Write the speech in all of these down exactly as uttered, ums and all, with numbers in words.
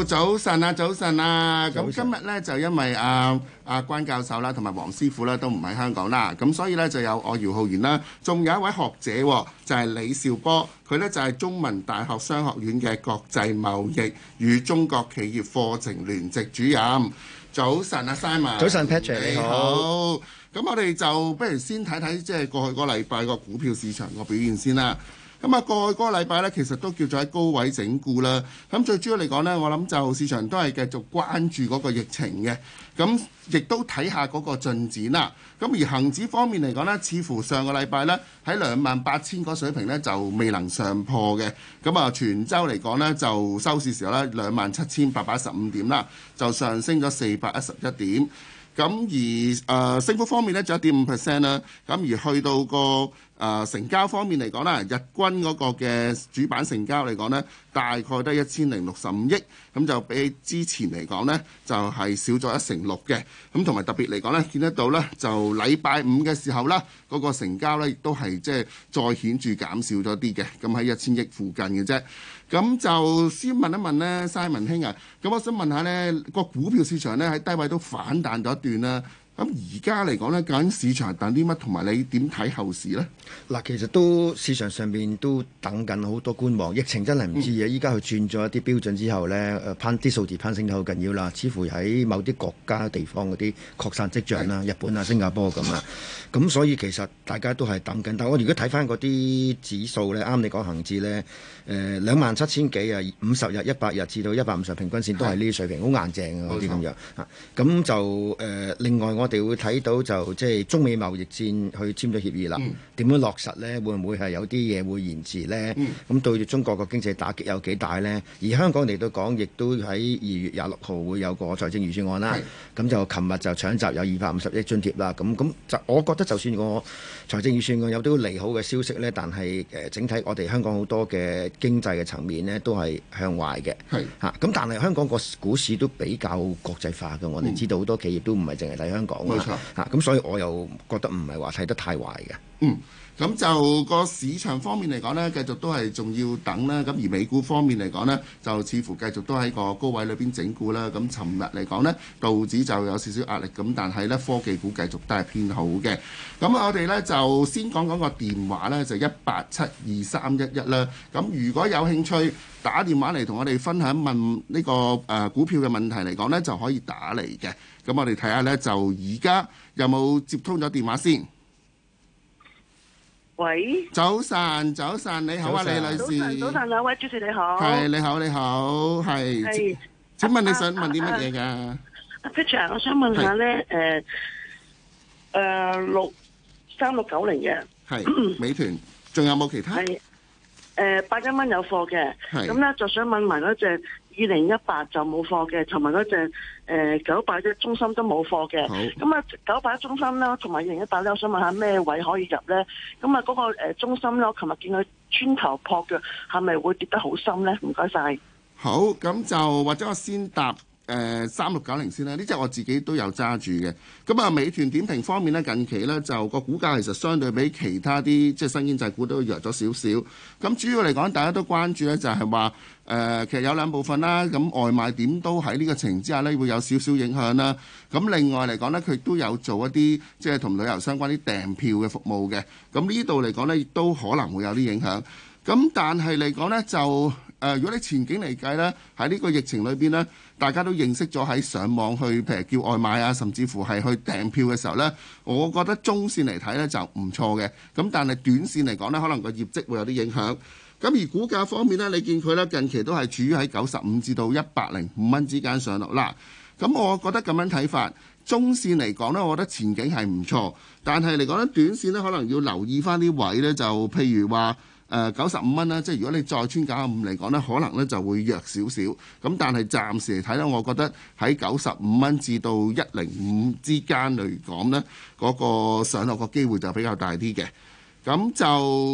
好，早晨啊，早晨啊！咁今日呢，就因為啊啊關教授啦，同埋黃師傅啦都唔喺香港啦，咁所以呢，就有我姚浩然啦，仲有一位學者、哦、就係、是、李兆波，佢呢，就係、是、中文大學商學院嘅國際貿易與中國企業課程聯席主任。早晨啊 ，Simon。 早晨 Patrick，你好。 咁我哋就不如先睇睇即係過去個禮拜個股票市場個表現先啦。咁啊，過去嗰個禮拜咧，其實都叫做喺高位整固啦。咁最主要嚟講呢，我諗就市場都係繼續關注嗰個疫情嘅，咁亦都睇下嗰個進展啦。咁而恆指方面嚟講呢，似乎上個禮拜呢，喺兩萬八千個水平呢，就未能上破嘅。咁啊，全週嚟講呢，就收市時候呢，兩萬七千八百一十五點啦，就上升咗四百一十一點。咁而誒、呃、升幅方面咧，就一點五 percent 啦。咁而去到個誒、呃、成交方面嚟講咧，日均嗰個嘅主板成交嚟講咧，大概得一千零六十五億，咁就比之前嚟講咧，就係、是、少咗一成六嘅。咁同埋特別嚟講咧，見得到咧，就禮拜五嘅時候啦，嗰、那個成交咧亦都係即係再顯著減少咗啲嘅，咁喺一千億附近嘅啫。咁就先問一問呢 Simon 兄啊，咁我想問下呢個股票市場呢，喺低位都反彈咗一段啦。咁而家嚟講呢，究竟市場係等啲乜？同埋你點睇後市呢？ 嗱，其實都市場上面都等緊好多觀望。疫情真係唔知啊！依家佢轉咗一啲標準之後呢，誒攀啲數字攀升得好緊要啦。似乎喺某啲國家地方嗰啲擴散跡象啦，日本啊、新加坡咁啊。咁所以其實大家都係等緊。但係我如果睇翻嗰啲指數呢，啱你講恒指呢，誒兩萬七千幾啊，五十日、一百日至到一百五十平均線都係呢啲水平，好硬淨啊嗰啲咁樣啊。咁就誒、呃、另外我哋會睇到就即係中美貿易戰去簽咗協議啦，點、嗯、樣落實呢？會唔會係有啲嘢會延遲呢？咁、嗯、對住中國個經濟打擊有幾大呢？而香港嚟到講，亦都喺二月廿六號會有個財政預算案啦。咁就琴日就搶集有二百五十億津貼啦。咁咁就我覺得就算個財政預算案有啲利好嘅消息呢，但係誒整體我哋香港好多嘅經濟嘅層面呢都係向壞嘅。係嚇咁，但係香港個股市都比較國際化嘅。我哋知道好多企業都唔係淨係睇香港。冇錯。嚇咁，所以我又覺得唔係話睇得太壞嘅。 嗯。咁就個市場方面嚟講呢，繼續都係仲要等啦。咁而美股方面嚟講呢，就似乎繼續都喺個高位裏邊整固啦。咁尋日嚟講呢，道指就有少少壓力，咁但係呢，科技股繼續都係偏好嘅。咁我哋呢，就先講講個電話呢，就一八七二三一一啦。咁如果有興趣打電話嚟同我哋分享問呢、呢個誒、呃、股票嘅問題嚟講呢，就可以打嚟嘅。咁我哋睇下呢，就而家有冇接通咗電話先。 喂， 早晨，早晨，你好啊，李女士。 早晨，早晨，兩位主持你好。 係，你好，你好，係。係。請問你想問啲乜嘢㗎？ 阿 Peter，我想問下咧，誒誒六三六九零嘅。係。美團， 仲有冇其他？ 係。誒，八一蚊有貨嘅。係。咁咧就想問埋嗰隻二零一八就冇貨嘅，同埋嗰隻誒九八一中心都冇貨嘅。好。咁啊，九八一中心啦，同埋二零一八咧，我想問下咩位可以入咧？咁啊，嗰個誒中心咧，我琴日見佢穿頭破腳，係咪會跌得好深咧？唔該晒。 好，咁就或者我先答。誒三六九零先啦，呢隻我自己都有揸住嘅。咁啊，美團點評方面呢，近期呢就個股價其實相對比其他啲即係新經濟股都弱咗少少。咁主要嚟講，大家都關注呢就係話誒，其實有兩部分啦。咁外賣點都喺呢個情況之下呢，會有少少影響啦。咁另外嚟講呢，佢都有做一啲即係同旅遊相關啲訂票嘅服務嘅。咁呢度嚟講呢，亦都可能會有啲影響。咁但係嚟講呢，就誒、呃，如果你前景嚟計呢，喺呢個疫情裏邊呢，大家都認識咗喺上網去，譬如叫外賣啊，甚至乎係去訂票嘅時候呢，我覺得中線嚟睇呢就唔錯嘅。咁但係短線嚟講呢，可能個業績會有啲影響。咁而股價方面呢，你見佢呢近期都係處於喺九十五至到一百零五蚊之間上落啦。咁我覺得咁樣睇法，中線嚟講呢，我覺得前景係唔錯，但係嚟講呢，短線呢，可能要留意翻啲位呢，就譬如話。誒九十五蚊啦，即係如果你再穿九十五嚟講呢，可能呢就會弱少少。咁但係暫時嚟睇呢，我覺得喺九十五蚊至到一零五之間嚟講呢，嗰、嗰個上落個機會就比較大啲嘅。咁就誒、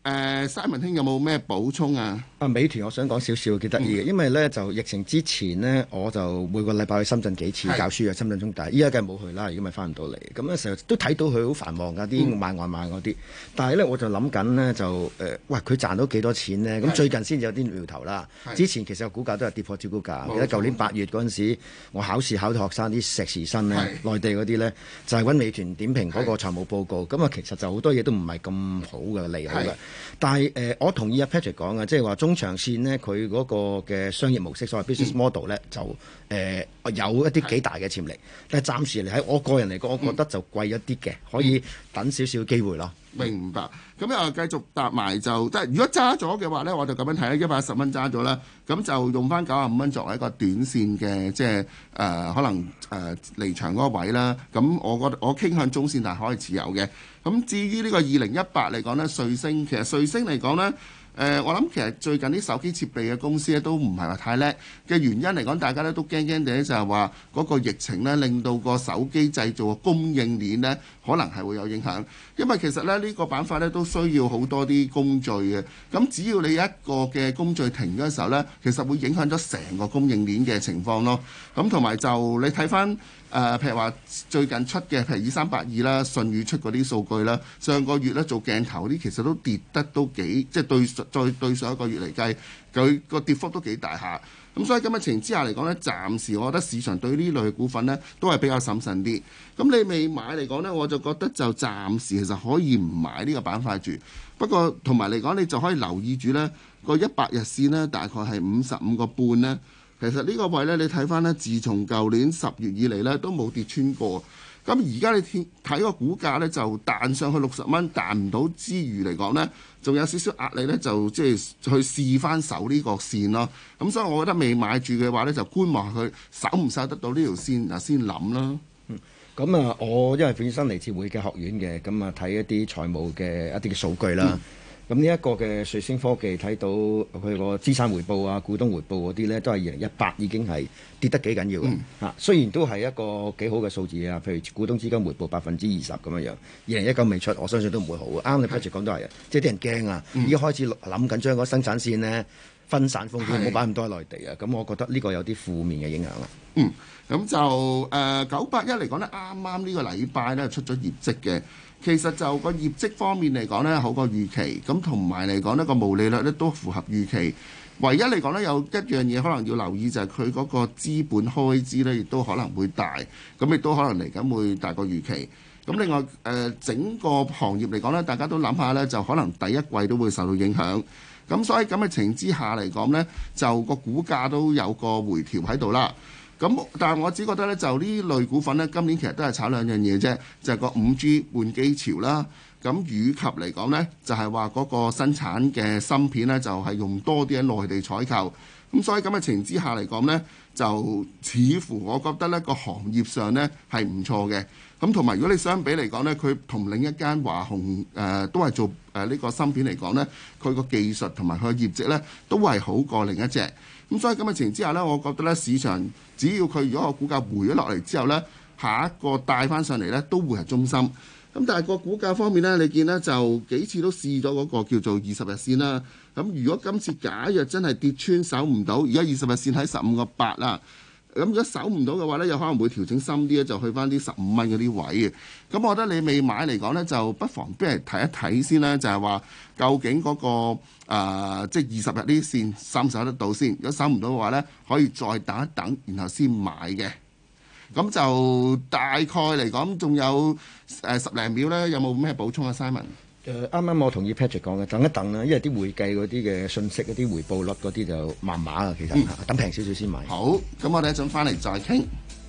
誒 Simon 兄有冇咩補充啊？ 啊，美團我想講少少幾得意嘅，因為咧就疫情之前呢，我就每個禮拜去深圳幾次教書啊，深圳中大。依家梗係冇去啦，如果咪翻唔到嚟。咁咧成日都睇到佢好繁忙㗎，啲買外賣嗰啲。但係咧我就諗緊呢，就誒、呃，喂佢賺到幾多錢呢？咁最近先至有啲苗頭啦。之前其實個股價都係跌破招股價。記得舊年八月嗰陣時，我考試考到學生啲碩士生呢，內地嗰啲呢，就係、是、揾美團點評嗰個財務報告。咁啊，其實就好多嘢都唔係咁好嘅利好嘅。但係誒、呃，我同意阿 Patrick 講嘅，即係話中長線呢，佢嗰個嘅商業模式，所謂 business model 咧、嗯，就誒、呃、有一啲幾大嘅潛力。但係暫時嚟喺我個人嚟講，我覺得就貴一啲嘅，可以等少少機會咯。 明白。咁又繼續搭埋就即係如果揸咗嘅話咧，我就咁樣睇啦，一百一十蚊揸咗啦，咁就用翻九十五蚊作為一個短線嘅即係誒、呃、可能誒、呃、離場嗰個位啦。咁我覺得我傾向中線，但係可以持有嘅。咁至於呢個二零一八嚟講呢，瑞星其實瑞星嚟講呢，誒、呃、我諗其實最近啲手機設備嘅公司咧都唔係話太叻嘅原因嚟講，大家咧都驚驚地就係話嗰個疫情呢令到個手機製造嘅供應鏈呢可能係會有影響，因為其實咧呢、呢個板塊呢都需要好多啲工序嘅，咁只要你一個嘅工序停嘅時候呢，其實會影響咗成個供應鏈嘅情況咯。咁同埋就你睇翻。誒、呃，譬如話最近出嘅，譬如二三八二啦，舜宇出嗰啲數據啦，上個月咧做鏡頭啲，其實都跌得都幾，即係對再對上一個月嚟計，佢個跌幅都幾大下。咁所以咁嘅情況之下嚟講呢，暫時我覺得市場對呢類股份呢都係比較審慎啲。咁你未買嚟講呢，我就覺得就暫時其實可以唔買呢個板塊住。不過同埋嚟講，你就可以留意住呢個一百日線呢，大概係五十五個半呢。其實呢個位呢，你睇翻呢，自從舊年十月以嚟呢，都冇跌穿過。咁而家你睇個股價呢，就彈上去六十蚊，彈唔到之餘嚟講呢，仲有少少壓力呢，就即係去試翻守呢個線咯。咁所以我覺得未買住嘅話呢，就觀望佢守唔守得到呢條線，嗱先諗啦。 嗯，咁啊，我因為本身嚟自會計學院嘅，咁啊睇一啲財務嘅一啲嘅數據啦。嗯咁呢一個嘅瑞星科技睇到佢個資產回報啊、股東回報嗰啲呢，都係二零一八已經係跌得幾緊要嘅嚇、嗯。雖然都係一個幾好嘅數字啊，譬如股東資金回報百分之二十咁樣樣。二零一九未出，我相信都唔會好。啱你 Patrick 講都係啊，即係啲人驚啊，已經開始諗緊將嗰生產線呢分散風險，冇擺咁多喺內地啊。咁我覺得呢個有啲負面嘅影響啦。 嗯，咁就誒九八一嚟講呢，啱啱呢個禮拜呢出咗業績嘅。其實就個業績方面嚟講呢，好過預期，咁同埋嚟講呢個毛利率呢都符合預期。唯一嚟講呢，有一樣嘢可能要留意就係佢嗰個資本開支呢，亦都可能會大，咁亦都可能嚟緊會大過預期。咁另外誒、呃、整個行業嚟講呢，大家都諗下呢，就可能第一季都會受到影響。咁所以咁嘅情之下嚟講呢，就個股價都有個回調喺度啦。咁，但係我只覺得咧，就呢類股份咧，今年其實都係炒兩樣嘢啫，就係個五 G 換機潮啦。咁以及嚟講呢，就係話嗰個生產嘅芯片呢，就係用多啲喺內地採購。咁所以咁嘅情之下嚟講呢，就似乎我覺得呢個行業上呢係唔錯嘅。咁同埋如果你相比嚟講呢，佢同另一間華虹誒、呃、都係做誒呢個芯片嚟講呢，佢個技術同埋佢嘅業績呢都係好過另一隻。咁所以咁嘅情況之下呢，我覺得呢市場只要佢如果個股價回咗落嚟之後呢，下一個帶翻上嚟呢都會係中心。咁但係個股價方面呢，你見呢就幾次都試咗嗰個叫做二十日線啦。咁如果今次假若真係跌穿守唔到，而家二十日線喺十五個八啦。咁如果守唔到嘅話呢，有可能會調整深啲咧，就去翻啲十五蚊嗰啲位嘅。咁我覺得你未買嚟講呢，就不妨俾人睇一睇先啦。就係話究竟嗰、嗰個、呃、即係二十日呢啲線守唔守得到先？如果守唔到嘅話呢，可以再等一等，然後先買嘅。咁就大概嚟講，仲有誒十零秒呢，有冇咩補充啊 Simon？ 誒啱啱我同意 Patrick 講嘅，等一等啦，因為啲會計嗰啲嘅信息、嗰啲回報率嗰啲就麻麻啊，其實、嗯、等平少少先買。 好，咁我哋一陣翻嚟再傾。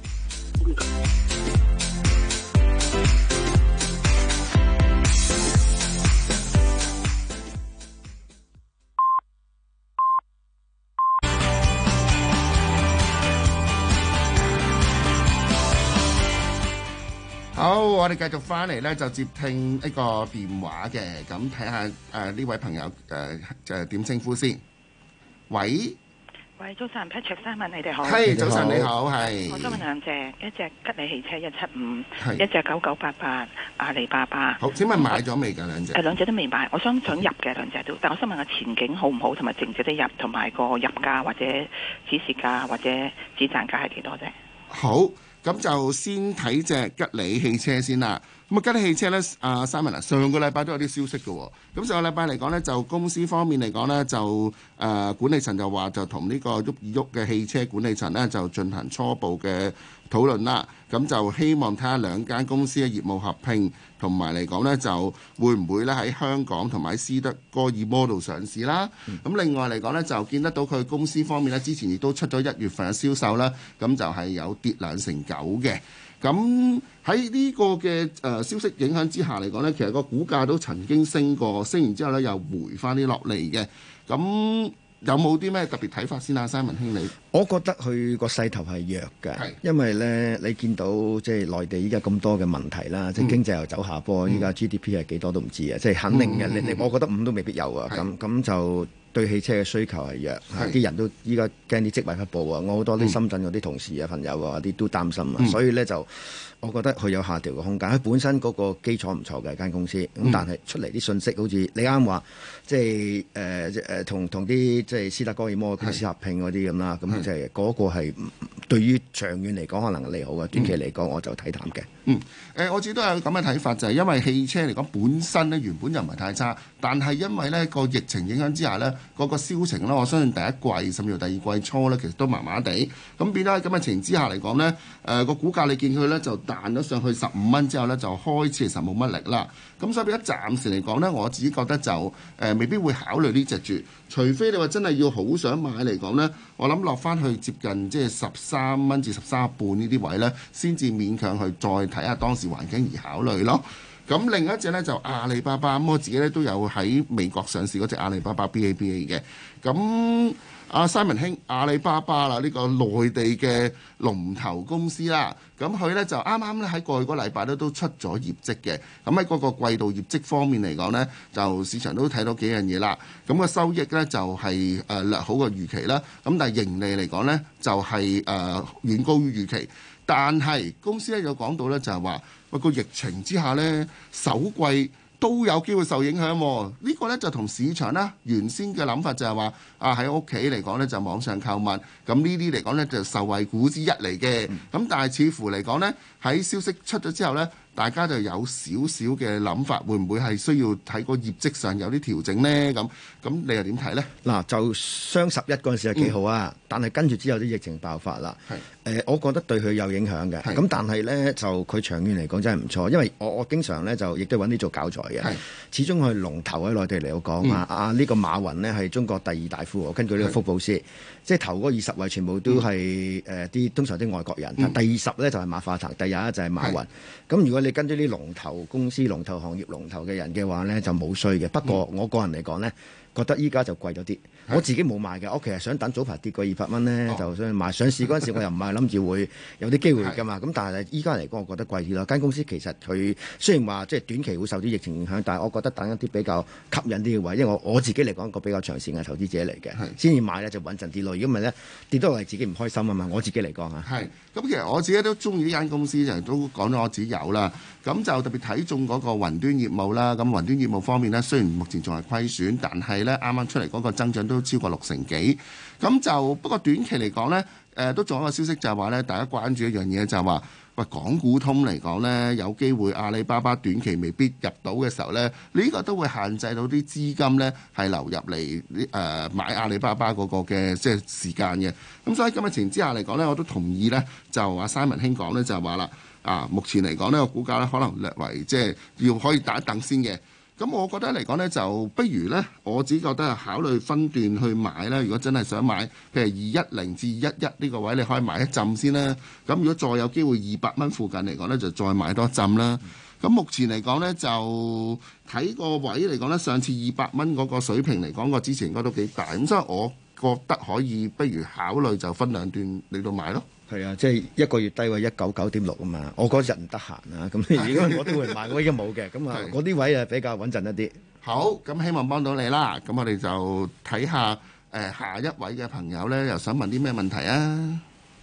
好，我哋繼續翻嚟咧，就接聽一個電話嘅，咁睇下誒呢位朋友誒誒點稱呼先。喂， 喂，早晨 Patrick Simon，你哋好。 係，早晨你好，係。 我想問兩隻，一隻吉利汽車一七五， 係一隻九九八八阿里巴巴。 好，請問買咗未㗎兩隻？ 誒兩隻都未買，我想想入嘅兩隻都，但我想問下前景好唔好，同埋值唔值得入，同埋個入價或者指示價或者止賺價係幾多啫？ 好。咁就先睇隻吉利汽車先啦。咁啊，吉利汽車呢，阿 Simon 啊，上個禮拜都有啲消息嘅喎。咁上個禮拜嚟講呢，就公司方面嚟講呢，就誒、呃、管理層就話就同呢個沃爾沃嘅汽車管理層呢，就進行初步嘅討論啦。咁就希望睇下兩間公司嘅業務合併，同埋嚟講呢，就會唔會咧喺香港同埋斯德哥爾摩度上市啦。咁、嗯、另外嚟講呢，就見得到佢公司方面呢，之前亦都出咗一月份嘅銷售啦，咁就係有跌兩成九嘅。咁喺呢個嘅誒消息影響之下嚟講呢，其實個股價都曾經升過，升完之後呢又回翻啲落嚟嘅。咁有冇啲咩特別睇法先啊，Simon兄你？ 我覺得佢個勢頭係弱嘅， 係因為呢，你見到即係內地依家咁多嘅問題啦，嗯、即係經濟又走下坡，依家 G D P 係幾多都唔知啊，即係肯定嘅。你你、嗯，我覺得五都未必有啊。咁咁就對汽車嘅需求係弱，啲人都依家驚啲職位不保啊。我好多啲深圳嗰啲同事啊、朋友啊啲都擔心啊， 嗯、 所以呢，就我覺得佢有下調嘅空間。佢本身嗰個基礎唔錯嘅間公司，咁、嗯、但係出嚟啲信息好似你啱話，即係誒誒同同啲即係斯德哥爾摩公司合併嗰啲咁啦，咁即係嗰個係對於長遠嚟講可能係利好嘅，短期嚟講我就睇淡嘅。 嗯，誒、呃、我自己都有咁嘅睇法，就係、是、因為汽車嚟講本身咧原本就唔係太差，但係因為呢個疫情影響之下呢，嗰、那個銷情呢，我相信第一季甚至乎第二季初呢，其實都麻麻地，咁變咗喺咁嘅情形之下嚟講呢，誒、呃、個股價你見佢呢就彈咗上去十五蚊之後呢，就開始其實冇乜力啦。咁所以變咗暫時嚟講呢，我自己覺得就誒、呃、未必會考慮呢隻住，除非你話真係要好想買嚟講呢，我諗落翻去接近即係十三蚊至十三半呢啲位呢，先至勉強去再睇下當時環境而考慮咯。咁另一隻呢，就阿里巴巴，咁我自己呢都有喺美國上市嗰隻阿里巴巴 B A B A 嘅。咁阿 Simon 兄，阿里巴巴啦，呢、這個內地嘅龍頭公司啦，咁佢呢就啱啱咧喺過去個禮拜咧都出咗業績嘅。咁喺嗰個季度業績方面嚟講呢，就市場都睇到幾樣嘢啦。咁、那個收益呢，就係、是、誒、呃、略好過預期啦。咁但係盈利嚟講呢，就係、是、誒、呃、遠高於預期。但係公司咧有講到咧，就係話喂個疫情之下咧，首季都有機會受影響喎。呢、這個咧就同市場啦原先嘅諗法就係話啊喺屋企嚟講咧就網上購物，咁呢啲嚟講咧就受惠股之一嚟嘅。咁、嗯、但係似乎嚟講咧喺消息出咗之後咧，大家就有少少嘅諗法，會唔會係需要睇個業績上有啲調整呢？咁咁你又點睇呢？ 嗱，就雙十一嗰陣時係幾好啊，嗯、但係跟住之後啲疫情爆發啦。係誒、呃，我覺得對佢有影響嘅。咁但係呢，就佢長遠嚟講真係唔錯，因為我我經常呢，就亦都揾啲做教材嘅。始終佢龍頭喺內地嚟講啊，啊呢、呢個馬雲呢係中國第二大富豪，根據呢個福布斯，即係頭嗰二十位全部都係誒啲通常啲外國人。嗯、第二十呢就係馬化騰，第廿一就係馬雲。咁如果你跟住啲龍頭公司、龍頭行業、龍頭嘅人嘅話呢，就冇衰嘅。不過我個人嚟講呢，覺得依家就貴咗啲。我自己冇買嘅，我其實想等早排跌過二百蚊呢，哦、就想買。上市嗰陣時我又唔係諗住會有啲機會㗎嘛。咁但係依家嚟講，我覺得貴啲咯。間公司其實佢雖然話即係短期會受啲疫情影響，但係我覺得等一啲比較吸引啲嘅位，因為我我自己嚟講一個比較長線嘅投資者嚟嘅，先至買呢就穩陣啲咯。如果唔係呢，跌到嚟自己唔開心啊嘛。我自己嚟講嚇。係。咁其實我自己都中意呢間公司，就都講咗我自己有啦。咁就特別睇中嗰個雲端業務啦。咁雲端業務方面呢，雖然目前仲係虧損，但係呢啱啱出嚟嗰個增長都超過六成幾。咁就不過短期嚟講呢，誒、呃、都仲有一個消息就係話呢，大家關注一樣嘢就係話，喂，港股通嚟講呢，有機會阿里巴巴短期未必入到嘅時候呢，呢、呢個都會限制到啲資金呢係流入嚟誒、呃、買阿里巴巴嗰個嘅即係時間嘅。咁所以咁嘅情況之下嚟講呢，我都同意呢，就阿 Simon 兄講呢，就係話啦，啊目前嚟講呢個股價呢，可能略為即係要可以等一等先嘅。咁我覺得嚟講呢，就不如呢，我只覺得係考慮分段去買啦。如果真係想買，譬如二一零至二一一呢個位，你可以買一浸先啦。咁如果再有機會二百蚊附近嚟講呢，就再買多一浸啦。咁目前嚟講呢，就睇個位嚟講呢，上次二百蚊嗰個水平嚟講，個支持應該都幾大。咁所以我覺得可以不如考慮就分兩段嚟到買咯。 係啊，即係一個月低位一九九點六啊嘛，我嗰日唔得閒啊，咁如果我都會買，我已經冇嘅，咁啊嗰啲位啊比較穩陣一啲。 好，咁希望幫到你啦。咁我哋就睇下誒下一位嘅朋友呢，又想問啲咩問題啊？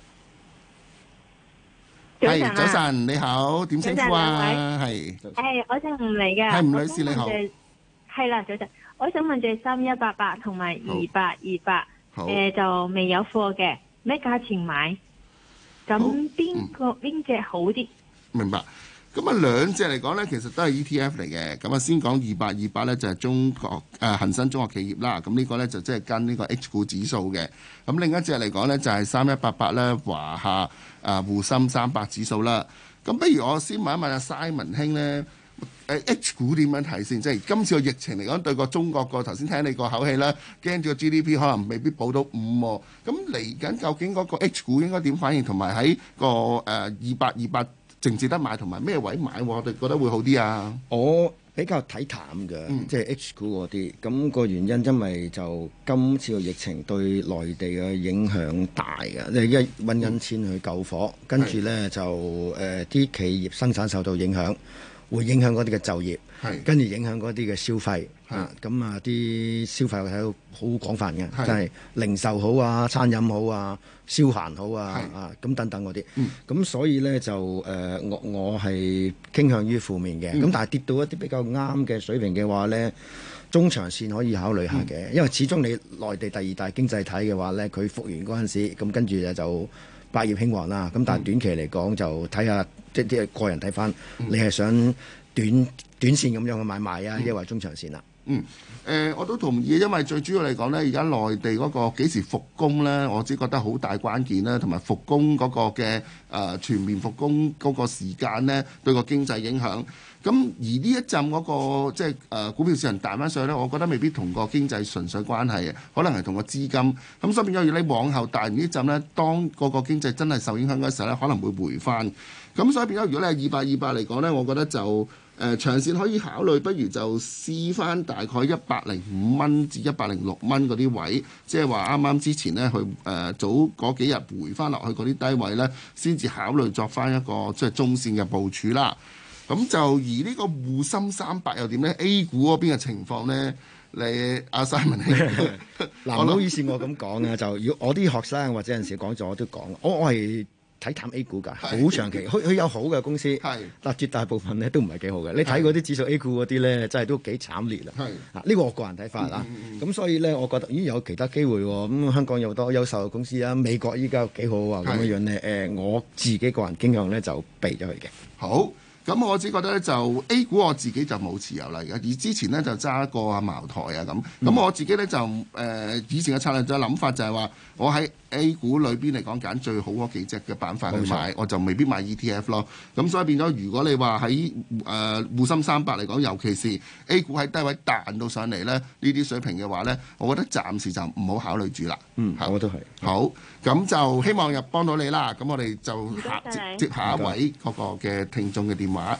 係早晨，你好，點稱呼啊？係誒，我姓吳嚟嘅。 係吳女士你好。 係啦，早晨，我想問隻三一八八同埋二八二八，誒就未有貨嘅，咩價錢買？咁邊個邊隻好啲？ 明白。咁啊兩隻嚟講呢，其實都係 E T F 嚟嘅。咁啊先講二八二八呢，就係中國誒恆生中國企業啦。咁呢個呢，就即係跟呢個 H 股指數嘅。咁另一隻嚟講呢，就係三一八八咧華夏誒滬深三百指數啦。咁不如我先問一問阿 Simon 兄呢，誒 H 股點樣睇先？即係今次個疫情嚟講，對個中國個頭先聽你個口氣啦，驚住個 G D P 可能未必保到五喎。咁嚟緊究竟嗰個 H 股應該點反應？同埋喺個誒二八二八。值唔值得買同埋咩位買？我哋覺得會好啲啊！ 我比較睇淡嘅， 嗯、 即係 H 股嗰啲。咁、個原因因為就今次個疫情對內地嘅影響大嘅，即係一揾緊錢去救火，嗯、跟住呢，就誒啲、呃、企業生產受到影響，會影響嗰啲嘅就業，跟住影響嗰啲嘅消費。啊，咁啊啲消費睇到好廣泛嘅，即係零售好啊、餐飲好啊、消閒好啊啊咁等等嗰啲。咁、嗯、所以呢，就誒、呃、我我係傾向於負面嘅。咁、嗯、但係跌到一啲比較啱嘅水平嘅話呢，中長線可以考慮下嘅。嗯、因為始終你內地第二大經濟體嘅話呢，佢復原嗰陣時，咁跟住就百業興旺啦。咁但係短期嚟講就睇下即係啲個人睇翻，嗯、你係想短短線咁樣去買賣啊，抑或中長線啊？ 嗯，誒、呃，我都同意，因為最主要嚟講呢，而家內地嗰個幾時復工呢，我只覺得好大關鍵啦，同埋復工嗰個嘅誒、呃、全面復工嗰個時間呢，對個經濟影響。咁而呢一陣嗰、那個即係誒、呃、股票市場彈翻上去呢，我覺得未必同個經濟純粹關係嘅，可能係同個資金。咁所以變咗，如果你往後彈完呢陣呢，當嗰個經濟真係受影響嗰時候呢，可能會回翻。咁所以變咗，如果你係二八二八嚟講呢，我覺得就。誒、呃、長線可以考慮，不如就試翻大概一百零五蚊至一百零六蚊嗰啲位，即係話啱啱之前呢，去誒、呃、早嗰幾日回翻落去嗰啲低位呢，先至考慮作翻一個即係中線嘅部署啦。咁就而呢個滬深三百又點呢？ A 股嗰邊嘅情況呢？你阿 Simon 兄， 嗱唔好意思，我咁講啊，就如果我啲學生或者有陣時講咗我都講，我我係。睇淡 A 股㗎，好長期，佢佢有好嘅公司，但絕大部分咧都唔係幾好嘅。你睇嗰啲指數 A 股嗰啲咧，真係都幾慘烈啦。啊，呢個我個人睇法啦。咁、嗯、所以咧，我覺得咦有其他機會喎。咁、嗯、香港有好多優秀嘅公司啊，美國依家幾好啊，咁樣樣咧。誒、呃，我自己個人傾向咧就避咗佢嘅。 好。咁我只覺得咧就 A 股我自己就冇持有啦，而之前咧就揸過阿茅台啊咁。咁、嗯、我自己咧就誒、呃、以前嘅策略就諗法就係話，我喺 A 股裏邊嚟講揀最好嗰幾隻嘅板塊去買，錯我就未必買 E T F 咯。咁所以變咗，如果你話喺誒滬深三百嚟講，尤其是 A 股喺低位彈到上嚟咧呢啲水平嘅話咧，我覺得暫時就唔好考慮住啦。 嗯，係，我都係。 好，咁就希望又幫到你啦。咁我哋就下接接下一位嗰個嘅聽眾嘅電話。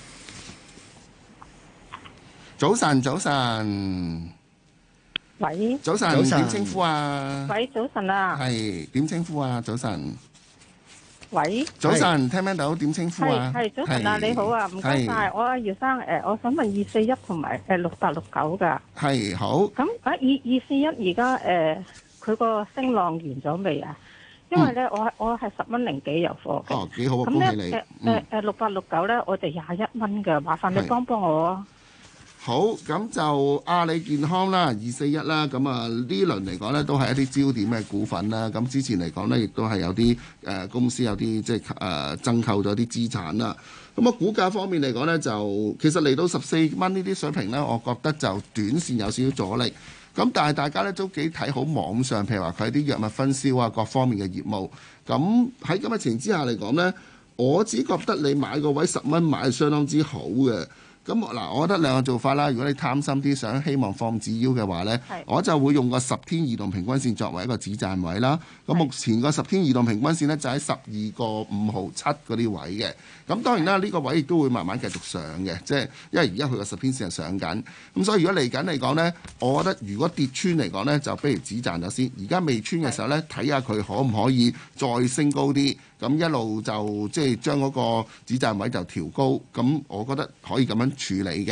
早晨，早晨。 喂。 早晨，點稱呼啊？ 喂，早晨啊。 係點稱呼啊？早晨。 喂。 早晨，聽唔聽到？點稱呼啊？ 係早晨啊，你好啊，唔該晒。我阿姚生誒，我想問二四一同埋誒六八六九㗎。 係好。 咁啊，二二四一而家誒，佢個升浪完咗未啊？因為咧，我我係十蚊零幾有貨嘅。 哦，幾好啊！ 恭喜你。誒誒誒，六八六九咧，我哋廿一蚊嘅，麻煩你幫幫我啊。 好，咁就阿里健康啦，二四一啦，咁啊呢輪嚟講呢，都係一啲焦點嘅股份啦。咁之前嚟講呢，亦都係有啲誒、呃、公司有啲即係誒增購咗啲資產啦。咁啊股價方面嚟講呢，就其實嚟到十四蚊呢啲水平呢，我覺得就短線有少少阻力。咁但係大家咧都幾睇好網上，譬如話佢啲藥物分銷啊，各方面嘅業務。咁喺咁嘅情形之下嚟講呢，我只覺得你買個位十蚊買係相當之好嘅。咁嗱，我覺得兩個做法啦。如果你貪心啲，想希望放止腰嘅話呢，是我就會用個十天移動平均線作為一個止賺位啦。咁目前個十天移動平均線呢，就喺十二個五毫七嗰啲位嘅。咁當然啦，呢、這個位亦都會慢慢繼續上嘅，即係因為而家佢個十天線係上緊。咁所以如果嚟緊嚟講呢，我覺得如果跌穿嚟講呢，就不如止賺咗先。而家未穿嘅時候呢，睇下佢可唔可以再升高啲。咁一路就即係將嗰個止賺位就調高。咁我覺得可以咁樣處理嘅。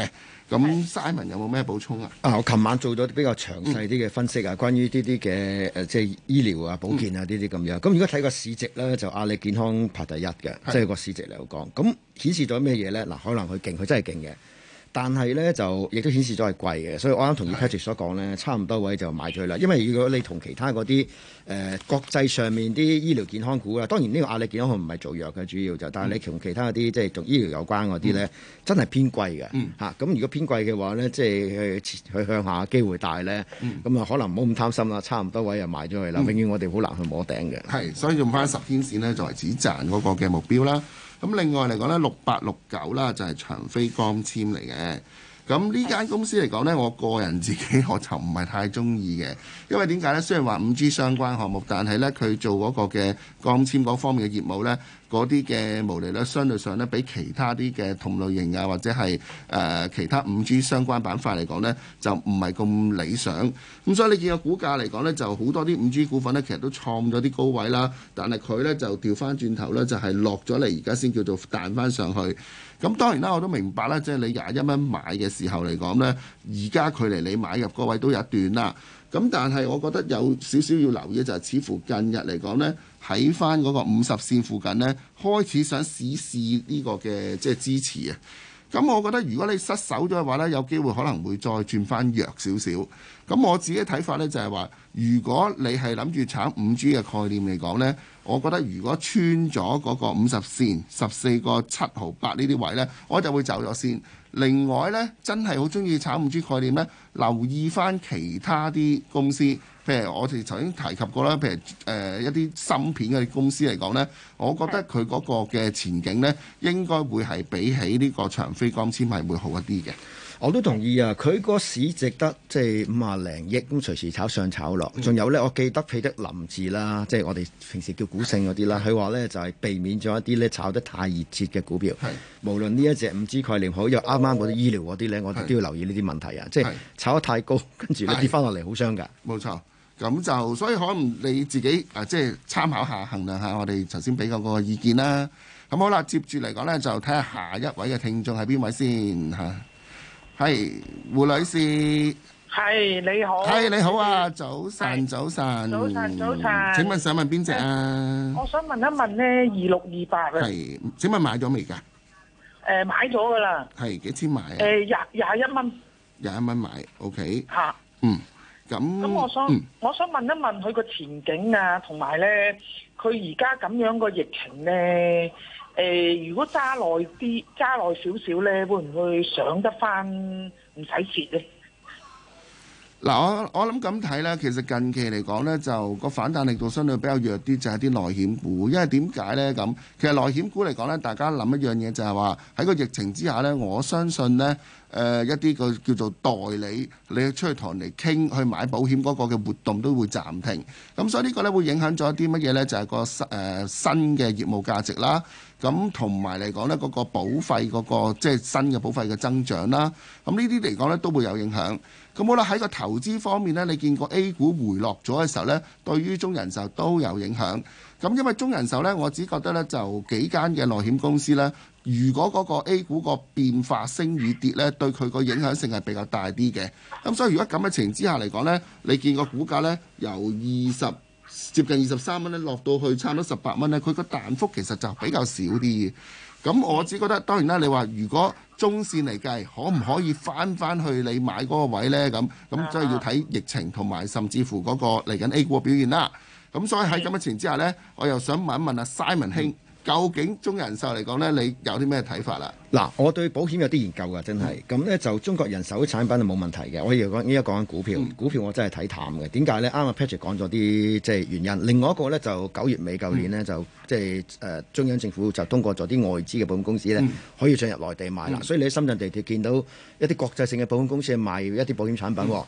咁 Simon 有冇咩補充啊？ 啊，我琴晚做咗比較詳細啲嘅分析啊，嗯、關於呢啲嘅誒即係醫療啊、保健啊呢啲咁樣。咁、嗯、如果睇個市值咧，就阿里健康排第一嘅，即係個市值嚟講。咁顯示咗咩嘢咧？嗱，可能佢勁，佢真係勁嘅。但係咧就亦都顯示咗係貴嘅，所以我啱同意 Patrick 所講咧，差唔多位就買咗啦。因為如果你同其他嗰啲誒國際上面啲醫療健康股啊，當然呢個阿里健康唔係做藥嘅主要就，但係你同其他嗰啲即係同醫療有關嗰啲咧，嗯、真係偏貴嘅嚇。咁、嗯啊、如果偏貴嘅話咧，即係去去向下機會大咧，咁啊、嗯、可能唔好咁貪心啦，差唔多位就買咗佢啦。嗯、永遠我哋好難去摸頂嘅。係， 所以用翻十天線咧作為止賺嗰個嘅目標啦。咁另外嚟講咧，六八六九啦就係長飛光纖嚟嘅。咁呢間公司嚟講呢，我個人自己我就唔係太中意嘅，因為點解呢？雖然話五 G 相關項目，但係呢，佢做嗰個嘅光纖嗰方面嘅業務呢，嗰啲嘅毛利率相對上呢，比其他啲嘅同類型啊或者係誒、呃、其他五 G 相關板塊嚟講呢，就唔係咁理想。咁所以你見個股價嚟講呢，就好多啲五 G 股份呢，其實都創咗啲高位啦，但係佢呢，就調翻轉頭呢，就係落咗嚟，而家先叫做彈翻上去。咁當然啦，我都明白啦，即係你廿一蚊買嘅時候嚟講呢，而家距離你買入嗰位都有一段啦。咁但係我覺得有少少要留意就係，似乎近日嚟講呢，喺翻嗰個五十線附近呢，開始想試試呢個嘅即係支持啊。咁我覺得如果你失手咗嘅話呢，有機會可能會再轉翻弱少少。咁我自己睇法呢，就係話，如果你係諗住炒五 G 嘅概念嚟講呢，我覺得如果穿咗嗰個五十線十四個七毫八呢啲位呢，我就會走咗先。另外呢，真係好中意炒五 G 概念呢，留意翻其他啲公司，譬如我哋頭先提及過啦，譬如誒、呃、一啲芯片嘅公司嚟講呢，我覺得佢嗰個嘅前景呢，應該會係比起呢個長飛光纖係會好一啲嘅。 我都同意啊！佢個市值得即係五啊零億，咁隨時炒上炒落。仲有呢，我記得彼得林字啦，即係我哋平時叫股聖嗰啲啦。佢話呢就係避免咗一啲呢炒得太熱切嘅股票。係，無論呢一隻五 G 概念好，又啱啱嗰啲醫療嗰啲呢，我哋都要留意呢啲問題啊！即係炒得太高，跟住你跌翻落嚟好傷㗎。 冇錯，咁就所以可能你自己啊，即係參考下、衡量下我哋頭先俾嗰個意見啦。咁好啦，接住嚟講呢，就睇下下一位嘅聽眾係邊位先嚇。係胡女士， 係你好， 係你好啊，早晨，早晨， 早晨，早晨。 請問想問邊隻啊？ 我想問一問咧，二六二八啊。 係，請問買咗未㗎？ 誒，買咗噶啦。係幾錢買啊？ 誒，廿廿一蚊。 廿一蚊買 ，OK。 嚇。 嗯。咁。咁我想，我想問一問佢個前景啊，同埋咧，佢而家咁樣個疫情咧。誒、呃，如果揸耐啲，揸耐少少咧，會唔會上得翻唔使蝕咧？ 嗱，我我諗咁睇咧，其實近期嚟講咧，就個反彈力度相對比較弱啲，就係啲內險股。因為點解咧咁？其實內險股嚟講咧，大家諗一樣嘢就係話喺個疫情之下咧，我相信咧。誒、呃、一啲個叫做代理，你出去同人哋傾去買保險嗰個嘅活動都會暫停，咁所以呢個呢會影響咗啲乜嘢呢？就係、是、個新誒、呃、新嘅業務價值啦，咁同埋嚟講呢，嗰、那個保費嗰、那個即係新嘅保費嘅增長啦，咁呢啲嚟講呢都會有影響。咁好啦，喺個投資方面呢，你見過 A 股回落咗嘅時候呢，對於中人壽都有影響。咁因為中人壽呢，我只覺得呢就幾間嘅內險公司呢。如果嗰個 A 股個變化升與跌呢，對佢個影響性係比較大啲嘅。咁所以如果咁嘅情形之下嚟講呢，你見個股價呢，由二十接近二十三蚊呢落到去差唔多十八蚊呢，佢個彈幅其實就比較少啲嘅。咁我只覺得當然啦，你話如果中線嚟計，可唔可以翻翻去你買嗰個位呢？咁咁即係要睇疫情同埋甚至乎嗰個嚟緊 A 股嘅表現啦。咁所以喺咁嘅情形之下呢，我又想問一問阿 Simon 兄。究竟中人壽嚟講呢，你有啲咩睇法啦？ 嗱，我對保險有啲研究㗎，真係。咁呢、嗯、就中國人壽啲產品係冇問題嘅。我而家講依家講緊股票，嗯、股票我真係睇淡嘅。點解呢？啱啱 Patrick 講咗啲即係原因。另外一個呢，就九月尾舊年呢，嗯、就即係誒中央政府就通過咗啲外資嘅保險公司呢，嗯、可以進入內地賣啦。嗯、所以你喺深圳地鐵見到一啲國際性嘅保險公司係賣一啲保險產品喎。嗯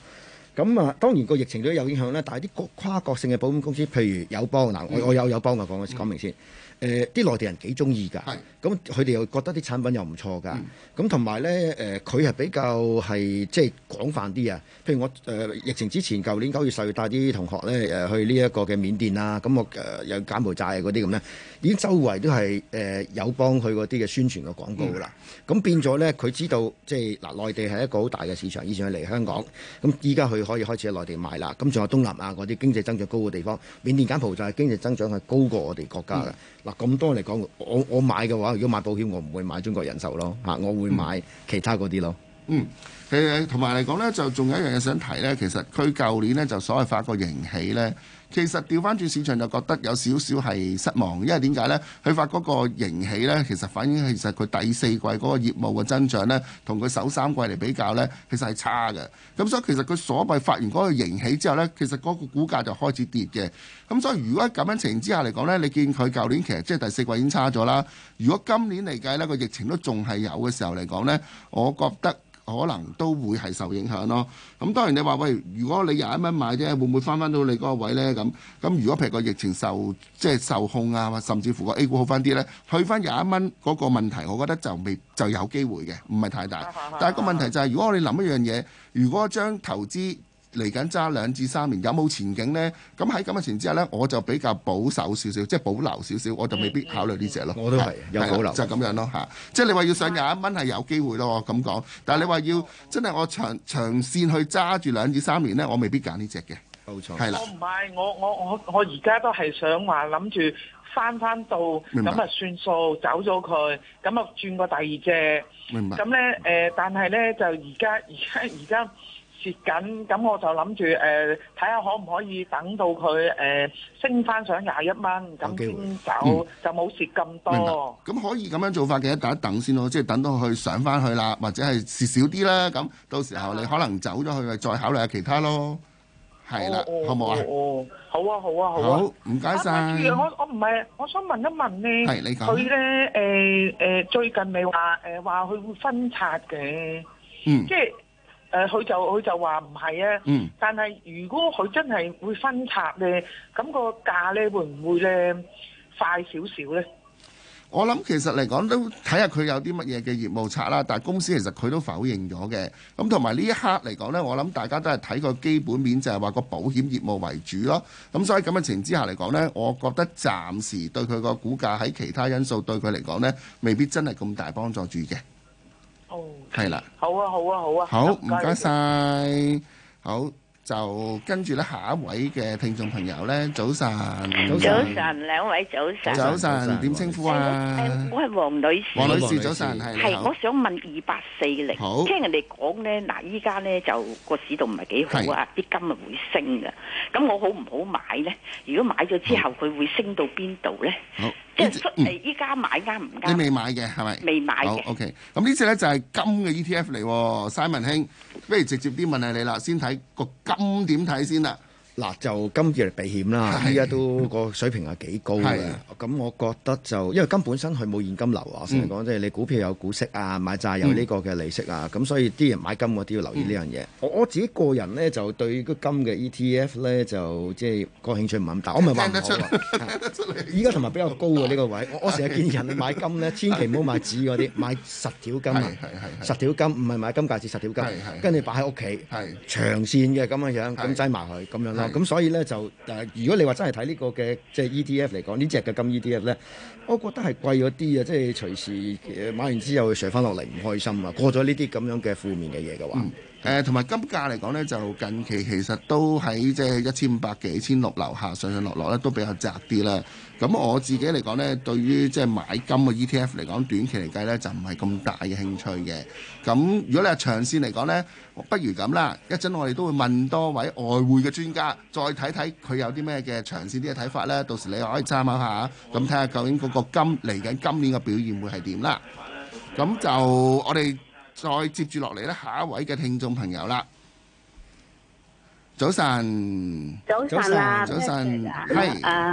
咁啊，當然個疫情都有影響啦，但係啲跨國性嘅保險公司，譬如友邦嗱，我我有友邦嘅講講明先。誒啲內地人幾中意㗎，咁佢哋又覺得啲產品又唔錯㗎，咁同埋咧誒佢係比較係即係廣泛啲啊。譬如我誒、呃、疫情之前，舊年九月十月帶啲同學咧誒、呃、去呢一個嘅緬甸啊，咁我誒、呃、有柬埔寨嗰啲咁咧，已經周圍都係誒友邦佢嗰啲嘅宣傳嘅廣告啦。咁、嗯、變咗咧，佢知道即係嗱內地係一個好大嘅市場，以前佢嚟香港，咁依家佢可以開始喺內地賣啦。咁仲有東南亞嗰啲經濟增長高嘅地方，緬甸柬埔寨經濟增長係高過我哋國家嘅。嗯嗱咁多嚟講，我我買嘅話，如果買保險，我唔會買中國人壽咯，嚇，我會買其他嗰啲咯。 嗯，誒同埋嚟講咧，就仲有一樣嘢想提咧，其實佢舊年咧就所謂發個盈喜咧，其實調翻轉市場就覺得有少少係失望，因為點解咧？佢發嗰個盈喜咧，其實反映其實佢第四季嗰個業務嘅增長咧，同佢首三季嚟比較咧，其實係差嘅。咁所以其實佢所謂發完嗰個盈喜之後咧，其實嗰個股價就開始跌嘅。咁所以如果喺咁樣情形之下嚟講咧，你見佢舊年其實即係第四季已經差咗啦。如果今年嚟計咧，個疫情都仲係有嘅時候嚟講咧，我覺得可能都會係受影響咯。咁當然你話喂，如果你廿一蚊買啫，會唔會翻翻到你嗰個位呢？咁咁如果譬如個疫情受即係受控啊，甚至乎個 A 股好翻啲呢，去翻廿一蚊嗰個問題，我覺得就未就有機會嘅，唔係太大。但係個問題就係、是，如果我哋諗一樣嘢，如果將投資嚟緊揸兩至三年有冇前景呢？咁喺咁嘅情況之下呢，我就比較保守少少，即係保留少少，我就未必考慮呢隻咯。 我都係有保留， 就係、是、咁樣咯嚇。即係你話要上廿一蚊係有機會咯，我咁講。但係你話要真係我長長線去揸住兩至三年呢，我未必揀呢隻嘅。 冇錯， 係啦。 我唔係，我我我我而家都係想話諗住翻翻到咁啊算數，走咗佢，咁啊轉過第二隻。 明白。 咁咧誒，但係咧就而家而家而家。蝕緊，咁我就諗住誒睇下可唔可以等到佢誒、呃、升翻上廿一蚊，咁先走、嗯、就冇蝕咁多。 咁可以咁樣做法嘅，等一等先咯，即係等到佢上翻去啦，或者係蝕少啲啦，咁到時候你可能走咗去，再考慮下其他咯。係啦、哦，好唔好啊？ 哦，好啊，好啊，好啊。 好，唔該晒。 我我唔係，我想問一問咧， 係你講。 佢咧誒誒最近咪話誒話佢會分拆嘅， 嗯， 即係。誒佢、呃、就佢就話唔係啊， 嗯、 但係如果佢真係會分拆咧，咁、個價咧會唔會咧快少少咧？ 我諗其實嚟講都睇下佢有啲乜嘢嘅業務拆啦，但係公司其實佢都否認咗嘅。咁同埋呢一刻嚟講呢，我諗大家都係睇個基本面，就係話個保險業務為主咯。咁所以咁嘅情之下嚟講呢，我覺得暫時對佢個股價喺其他因素對佢嚟講呢，未必真係咁大幫助住嘅。 哦， 係啦， 好啊，好啊，好啊， 好，唔該晒，好，就跟住咧下一位嘅聽眾朋友咧，早晨， 早晨，兩位早晨， 早晨，點稱呼啊？ 誒，我係黃女士， 黃女士早晨，係， 係，我想問二八四零， 好， 聽人哋講咧，嗱，依家咧就個市道唔係幾好啊，啲金啊會升嘅，咁我好唔好買咧？如果買咗之後，佢會升到邊度咧？ 好。 即係誒，依家買啱唔啱？ 你未買嘅係咪？ 未買嘅。 好 OK。咁呢隻咧就係金嘅 E T F 嚟，Simon 兄，不如直接啲問下你啦，先睇個金點睇先啦。 嗱，就金叫嚟避險啦，依家都個水平係幾高嘅。咁我覺得就因為金本身佢冇現金流啊，成日講即係你股票有股息啊，買債有呢個嘅利息啊，咁、嗯、所以啲人買金嗰啲要留意呢樣嘢。我我自己個人咧就對個金嘅 E T F 咧就即係個興趣唔係咁大，我唔係話唔好啊。依家同埋比較高啊呢個位，我我成日建議人去買金咧，千祈唔好買紙嗰啲，買實條金啊，實條金唔係買金戒指，實條金，跟住擺喺屋企，長線嘅咁樣樣，咁擠埋佢咁樣咯。咁所以咧就誒、呃，如果你話真係睇呢個嘅即係 E T F 嚟講，呢隻嘅金 E T F 咧，我覺得係貴咗啲啊！即係隨時買完之後上翻落嚟唔開心啊！過咗呢啲咁樣嘅負面嘅嘢嘅話， 誒同埋金價嚟講咧，就近期其實都喺即係一千五百幾、一千六樓下上上落落咧，都比較窄啲啦。咁我自己嚟講咧，對於即係買金嘅 E T F 嚟講，短期嚟計咧就唔係咁大嘅興趣嘅。咁如果你係長線嚟講咧，不如咁啦，一陣我哋都會問多位外匯嘅專家，再睇睇佢有啲咩嘅長線啲嘅睇法咧。到時你可以參考下，咁睇下究竟嗰個金嚟緊今年嘅表現會係點啦。咁就我哋再接住落嚟咧，下一位嘅聽眾朋友啦。早晨， 早晨啊， 早晨， 係誒，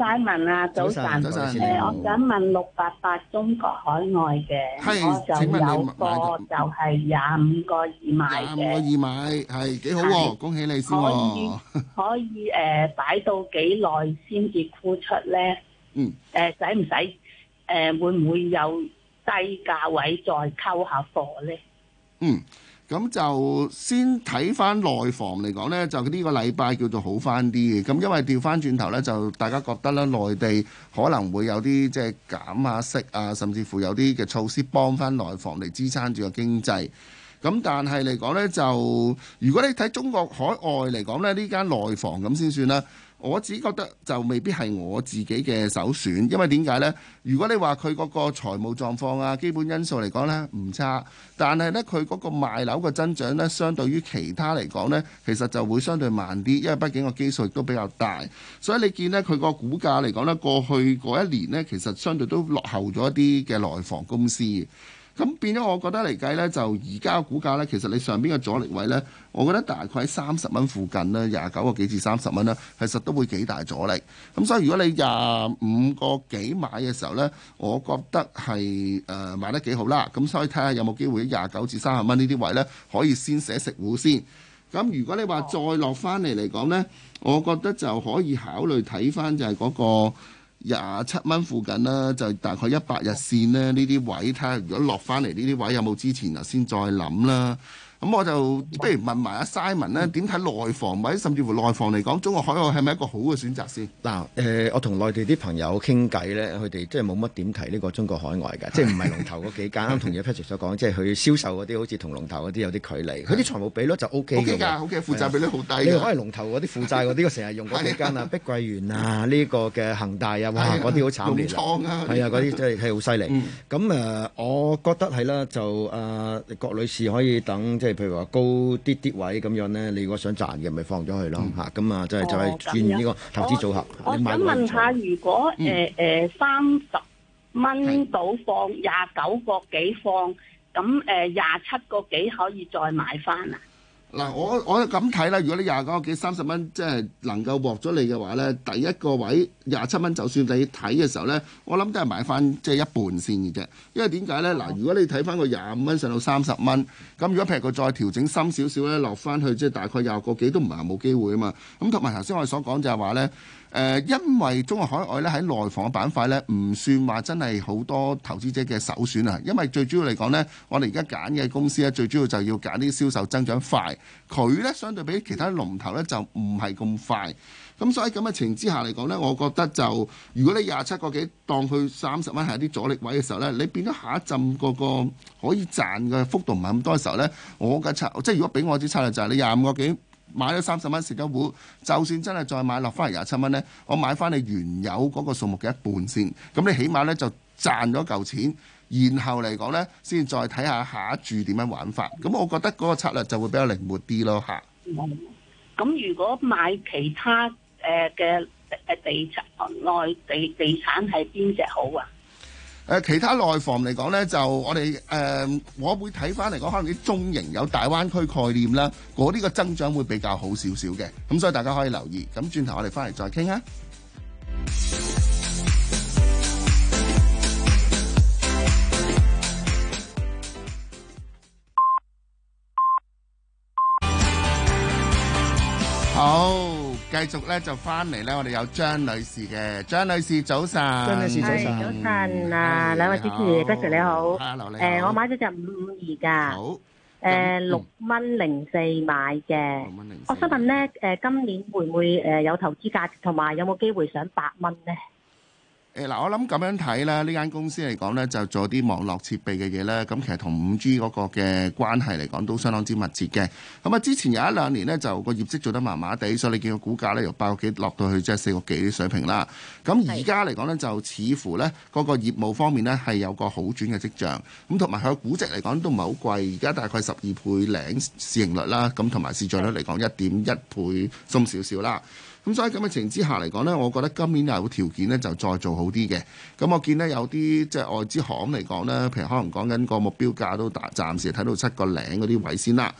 Simon 啊，早晨， 早晨誒，我想問六八八中國海外嘅， 係我就請問你有買個就係廿五個二買廿五個嘅， 二買係幾好喎， 係恭喜你先可以喎。 可以誒擺到幾耐先至沽出咧？ 嗯， 誒使唔使誒會唔會有低價位再溝下貨咧？ 嗯。咁就先睇翻內房嚟講呢，就呢個禮拜叫做好翻啲嘅。咁因為調翻轉頭呢，就大家覺得咧，內地可能會有啲即係減下息啊，甚至乎有啲嘅措施幫翻內房嚟支撐住個經濟。咁但係嚟講呢，就如果你睇中國海外嚟講呢，呢間內房咁先算啦。我只覺得就未必係我自己嘅首選，因為點解呢？如果你話佢嗰個財務狀況啊、基本因素嚟講呢唔差，但係呢，佢嗰個賣樓嘅增長呢，相對於其他嚟講呢，其實就會相對慢啲，因為畢竟個基數亦都比較大，所以你見呢，佢個股價嚟講呢，過去嗰一年呢，其實相對都落後咗一啲嘅內房公司。咁變咗，我覺得嚟計呢，就而家嘅股價呢，其實你上邊嘅阻力位呢，我覺得大概喺三十蚊附近啦，廿九個幾至三十蚊啦，其實都會幾大阻力。咁所以如果你廿五個幾買嘅時候呢，我覺得係誒、呃、買得幾好啦。咁所以睇下有冇機會廿九至三十蚊呢啲位呢，可以先寫食糊先。咁如果你話再落翻嚟嚟講呢，我覺得就可以考慮睇翻就係嗰、嗰個。廿七蚊附近啦，就大概一百日線咧，呢啲位睇下，如果落翻嚟呢啲位有冇之前啊，先再諗啦。咁我就不如問埋阿 Simon 咧，點睇內房或者甚至乎內房嚟講，中國海外係咪一個好嘅選擇先？ 嗱，誒，我同內地啲朋友傾偈咧，佢哋即係冇乜點提呢個中國海外嘅，即係唔係龍頭嗰幾間。啱同阿 Patrick 所講，即係佢銷售嗰啲好似同龍頭嗰啲有啲距離。佢啲財務比率就 O K 嘅。O K 㗎，O K，負債比率好低。你可以龍頭嗰啲負債嗰啲，我成日用嗰幾間啊，碧桂園啊，呢個嘅恒大啊，哇，嗰啲好慘烈。 龍倉啊， 係啊，嗰啲真係係好犀利。咁誒，我覺得係啦，就誒郭女士可以等即係。譬如話高啲啲位咁樣咧，你如果想賺嘅，咪放咗佢咯嚇。咁啊，即係就係轉呢個投資組合。 我想問下，如果誒誒三十蚊到放廿九個幾放，咁誒廿七個幾可以再買翻啊？ 嗱，我我咁睇啦，如果你廿九個幾三十蚊，即係能夠獲咗你嘅話咧，第一個位廿七蚊，就算你睇嘅時候咧，我諗都係買翻即係一半先嘅啫。因為點解咧？嗱，如果你睇翻個廿五蚊上到三十蚊，咁如果譬如佢再調整深少少咧，落翻去即係大概廿個幾都唔係話冇機會啊嘛。咁同埋頭先我哋所講就係話咧。誒、呃，因為中國海外咧喺內房嘅板塊咧，唔算話真係好多投資者嘅首選啊。因為最主要嚟講咧，我哋而家揀嘅公司咧，最主要就要揀啲銷售增長快，佢咧相對比其他龍頭咧就唔係咁快。咁所以咁嘅情之下嚟講咧，我覺得就如果你廿七個幾當佢三十蚊係一啲阻力位嘅時候咧，你變咗下一陣嗰個可以賺嘅幅度唔係咁多嘅時候咧，我嘅策即係如果俾我啲策略就係你廿五個幾。買咗三十蚊蝕咗糊，就算真係再買落翻嚟廿七蚊呢，我買翻你原有嗰個數目嘅一半先，咁你起碼呢就賺咗嚿錢，然後嚟講呢，先再睇下下一注點樣玩法。咁我覺得嗰個策略就會比較靈活啲咯嚇。 咁如果買其他誒嘅誒地產內地地產係邊隻好啊？ 誒其他內房嚟講呢，就我哋誒、呃，我會睇翻嚟講，可能啲中型有大灣區概念啦，嗰啲個增長會比較好少少嘅，咁所以大家可以留意。咁轉頭我哋翻嚟再傾啊。好。繼續咧就翻嚟咧，我哋有張女士嘅，張女士早晨， 張女士早晨， 早晨啊，兩位主持，Patrick你好， 誒我買咗隻五五二㗎， 好， 誒六蚊零四買嘅， 六蚊零四， 我想問咧，誒今年會唔會誒有投資價值，同埋有冇機會上八蚊咧？ 誒嗱，我諗咁樣睇啦，呢間公司嚟講呢，就做啲網絡設備嘅嘢呢。咁其實同五 G 嗰個嘅關係嚟講都相當之密切嘅。咁啊，之前有一兩年呢，就個業績做得麻麻地，所以你見個股價呢，由八個幾落到去即係四個幾啲水平啦。咁而家嚟講呢，就似乎呢嗰個業務方面呢，係有個好轉嘅跡象。咁同埋佢個估值嚟講都唔係好貴，而家大概十二倍零市盈率啦，咁同埋市賬率嚟講一點一倍鬆少少啦。咁所以咁嘅情形之下嚟講呢，我覺得今年有條件呢就再做好啲嘅。咁我見呢有啲即係外資行嚟講呢，譬如可能講緊個目標價都大暫時睇到七個零嗰啲位先啦。咁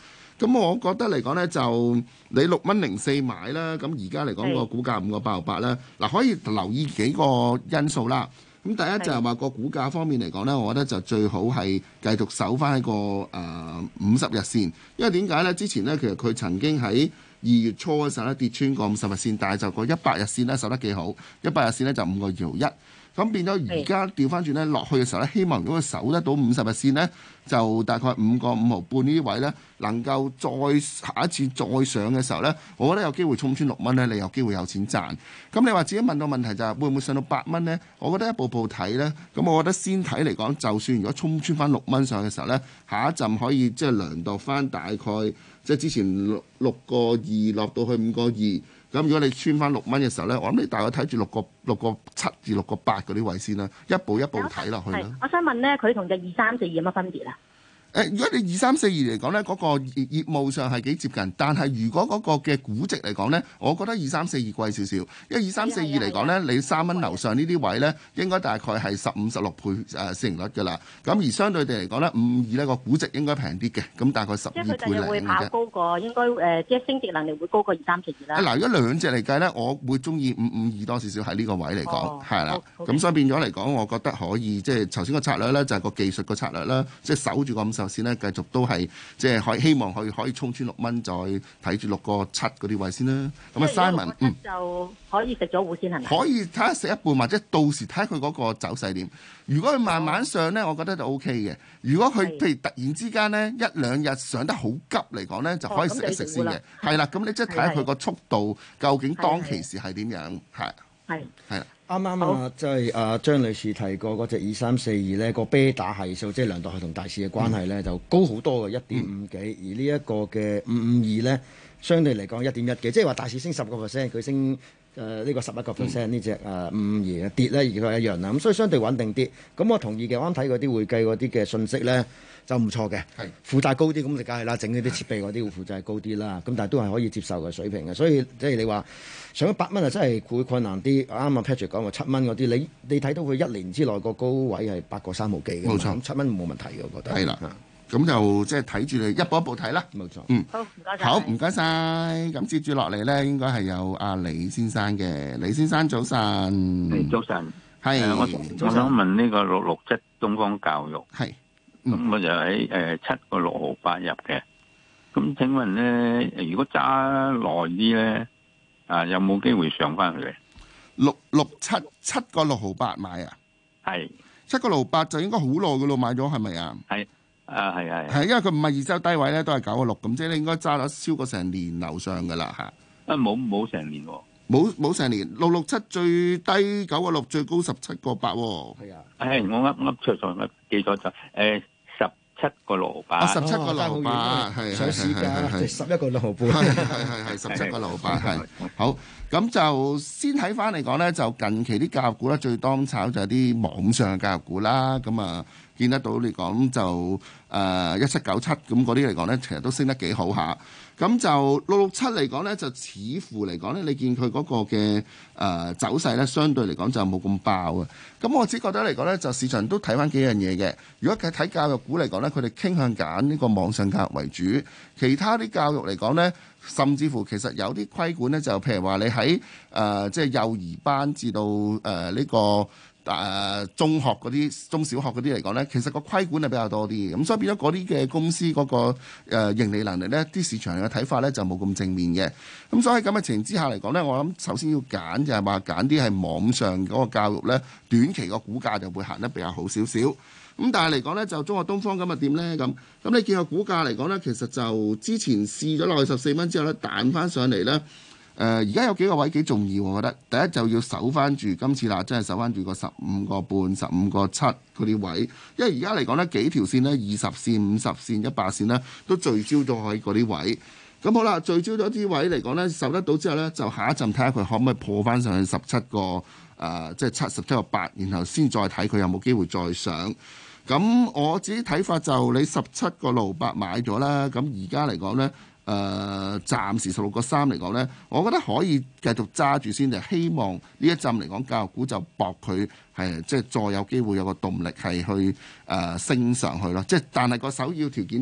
咁我覺得嚟講呢，就你六蚊零四買啦，咁而家嚟講個股價五個八毫八啦，嗱可以留意幾個因素啦。咁第一就係話個股價方面嚟講呢，我覺得就最好係繼續守翻喺個誒五十日線，因為點解呢？之前呢，其實佢曾經喺二月初嘅時候咧跌穿過五十日線，但係就個一百日線咧守得幾好，一百日線咧就五個二毫一。咁變咗而家調翻轉咧落去嘅時候咧，希望如果佢守得到五十日線咧，就大概五個五毫半呢啲位咧，能夠再下一次再上嘅時候咧，我覺得有機會衝穿六蚊咧，你有機會有錢賺。咁你話自己問到問題就係會唔會上到八蚊咧？我覺得一步步睇咧，咁我覺得先睇嚟講，就算如果衝穿翻六蚊上嘅時候咧，下一陣可以即係量度翻大概即係之前六六個二落到去五個二。咁如果你穿翻六蚊嘅時候咧，我諗你大概睇住六個六個七至六個八嗰啲位先啦，一步一步睇落去啦。 我想問咧，佢同隻二三四二有乜分別啊？ 誒，如果你二三四二嚟講咧，嗰、那個業業務上係幾接近，但係如果嗰個嘅估值嚟講咧，我覺得二三四二貴少少，因為二三四二嚟講咧，你三蚊樓上呢啲位咧，應該大概係十五十六倍誒市盈率㗎啦。咁而相對地嚟講咧，五二呢個估值應該平啲嘅，咁大概十二倍零嘅啫。 即係佢就會跑高過，應該誒、呃，即係升值能力會高過二三四二啦。 嗱，如果兩隻嚟計咧，我會中意五五二多少少喺呢個位嚟講，係啦、哦。咁所以變咗嚟講，我覺得可以即係頭先個策略咧，就係、是、個技術個策略啦，即係守住個五十線咧，繼續都。都係即係可希望可以可以衝穿六蚊，再睇住六個七嗰啲位先啦。咁啊，Simon，嗯， 就可以食咗糊先係咪？ 可以睇下食一半，或者到時睇下佢嗰個走勢點。如果佢慢慢上咧，我覺得就 O K 嘅。如果佢譬如突然之間咧一兩日上得好急嚟講咧，就可以食一食先嘅。係啦，咁你即係睇下佢個速度究竟當其時係點樣？係係係啦。 啱啱啊，即係啊張女士提過嗰隻二三四二咧，個啤打係數，即係量度係同大市嘅關係咧，嗯、就高好多嘅一點五幾，而呢一個嘅五五二咧，相對嚟講一點一幾，即係話大市升十個 percent，佢升誒呢、呃這個十一個 percent 呢隻誒五五二跌咧，而佢係一樣啦，咁所以相對穩定啲。咁我同意嘅，我啱睇嗰啲會計嗰啲嘅信息咧。就唔錯嘅，負債高啲咁就梗係啦，整呢啲設備嗰啲會負債高啲啦，咁但係都係可以接受嘅水平嘅，所以即係你話上咗八蚊啊，真係會困難啲。啱啱 Patrick 講話七蚊嗰啲，你你睇到佢一年之內個高位係八個三毫幾嘅，冇錯，七蚊冇問題嘅，我覺得。係啦，咁就即係睇住你一步一步睇啦。冇錯，嗯，好，唔該晒。好，唔該晒。咁接住落嚟咧，應該係有阿李先生嘅，李先生早晨。 係早晨， 係我我想問呢個六六七東方教育係。咁、嗯、我就喺誒七個六毫八入嘅，咁請問咧，如果揸耐啲咧，啊有冇機會上翻去？ 六六七七個六毫八買啊？係七個六毫八就應該好耐嘅咯，買咗係咪啊？係啊，係係係，因為佢唔係二周低位咧，都係九個六咁，即係你應該揸咗超過成年樓上嘅啦嚇。啊冇冇成年喎？冇冇成年，六六七最低九個六，最高十七個八喎。係啊，誒我噏噏錯錯，我記咗就誒。七個六毫八，十七個六毫八，係上市價係十一個六毫半， 係係係十七個六毫八，係好。咁就先睇翻嚟講咧，就近期啲教育股咧最當炒就係啲網上嘅教育股啦。咁啊，見得到嚟講就誒一七九七咁嗰啲嚟講咧，其實都升得幾好下。咁就六六七嚟講咧，就似乎嚟講咧，你見佢嗰個嘅誒、呃、走勢咧，相對嚟講就冇咁爆啊。咁我只覺得嚟講咧，就市場都睇翻幾樣嘢嘅。如果睇教育股嚟講咧，佢哋傾向揀呢個網上教育為主，其他啲教育嚟講咧，甚至乎其實有啲規管咧，就譬如話你喺誒即係幼兒班至到誒呢、呃這個。誒、呃、中學嗰啲、中小學嗰啲嚟講呢，其實個規管係比較多啲，咁所以變咗嗰啲嘅公司嗰、嗰個、呃、盈利能力呢，啲市場嘅睇法呢就冇咁正面嘅。咁所以喺咁嘅情形之下嚟講呢，我諗首先要揀就係話揀啲係網上嗰個教育呢，短期個股價就會行得比較好少少。咁但係嚟講呢，就中國東方咁啊點呢？咁咁你見個股價嚟講呢，其實就之前試咗落去十四蚊之後呢，彈翻上嚟呢。誒而家有幾個位幾重要，我覺得第一就要守翻住今次啦，真係守翻住個十五個半、十五個七嗰啲位，因為而家嚟講呢幾條線呢，二十線、五十線、一百線呢，都聚焦咗喺嗰啲位。咁好啦，聚焦咗啲位嚟講呢，守得到之後呢，就下一陣睇下佢可唔可以破翻上去十七個誒，即係七十七個八，然後先再睇佢有冇機會再上。咁我自己睇法就你十七個六八買咗啦，咁而家嚟講呢。誒、呃、暫時十六個三嚟講呢，我覺得可以繼續揸住先，就希望呢一陣嚟講教育股就搏佢係即係再有機會有個動力係去誒、呃、升上去咯。即係但係個首要條件就係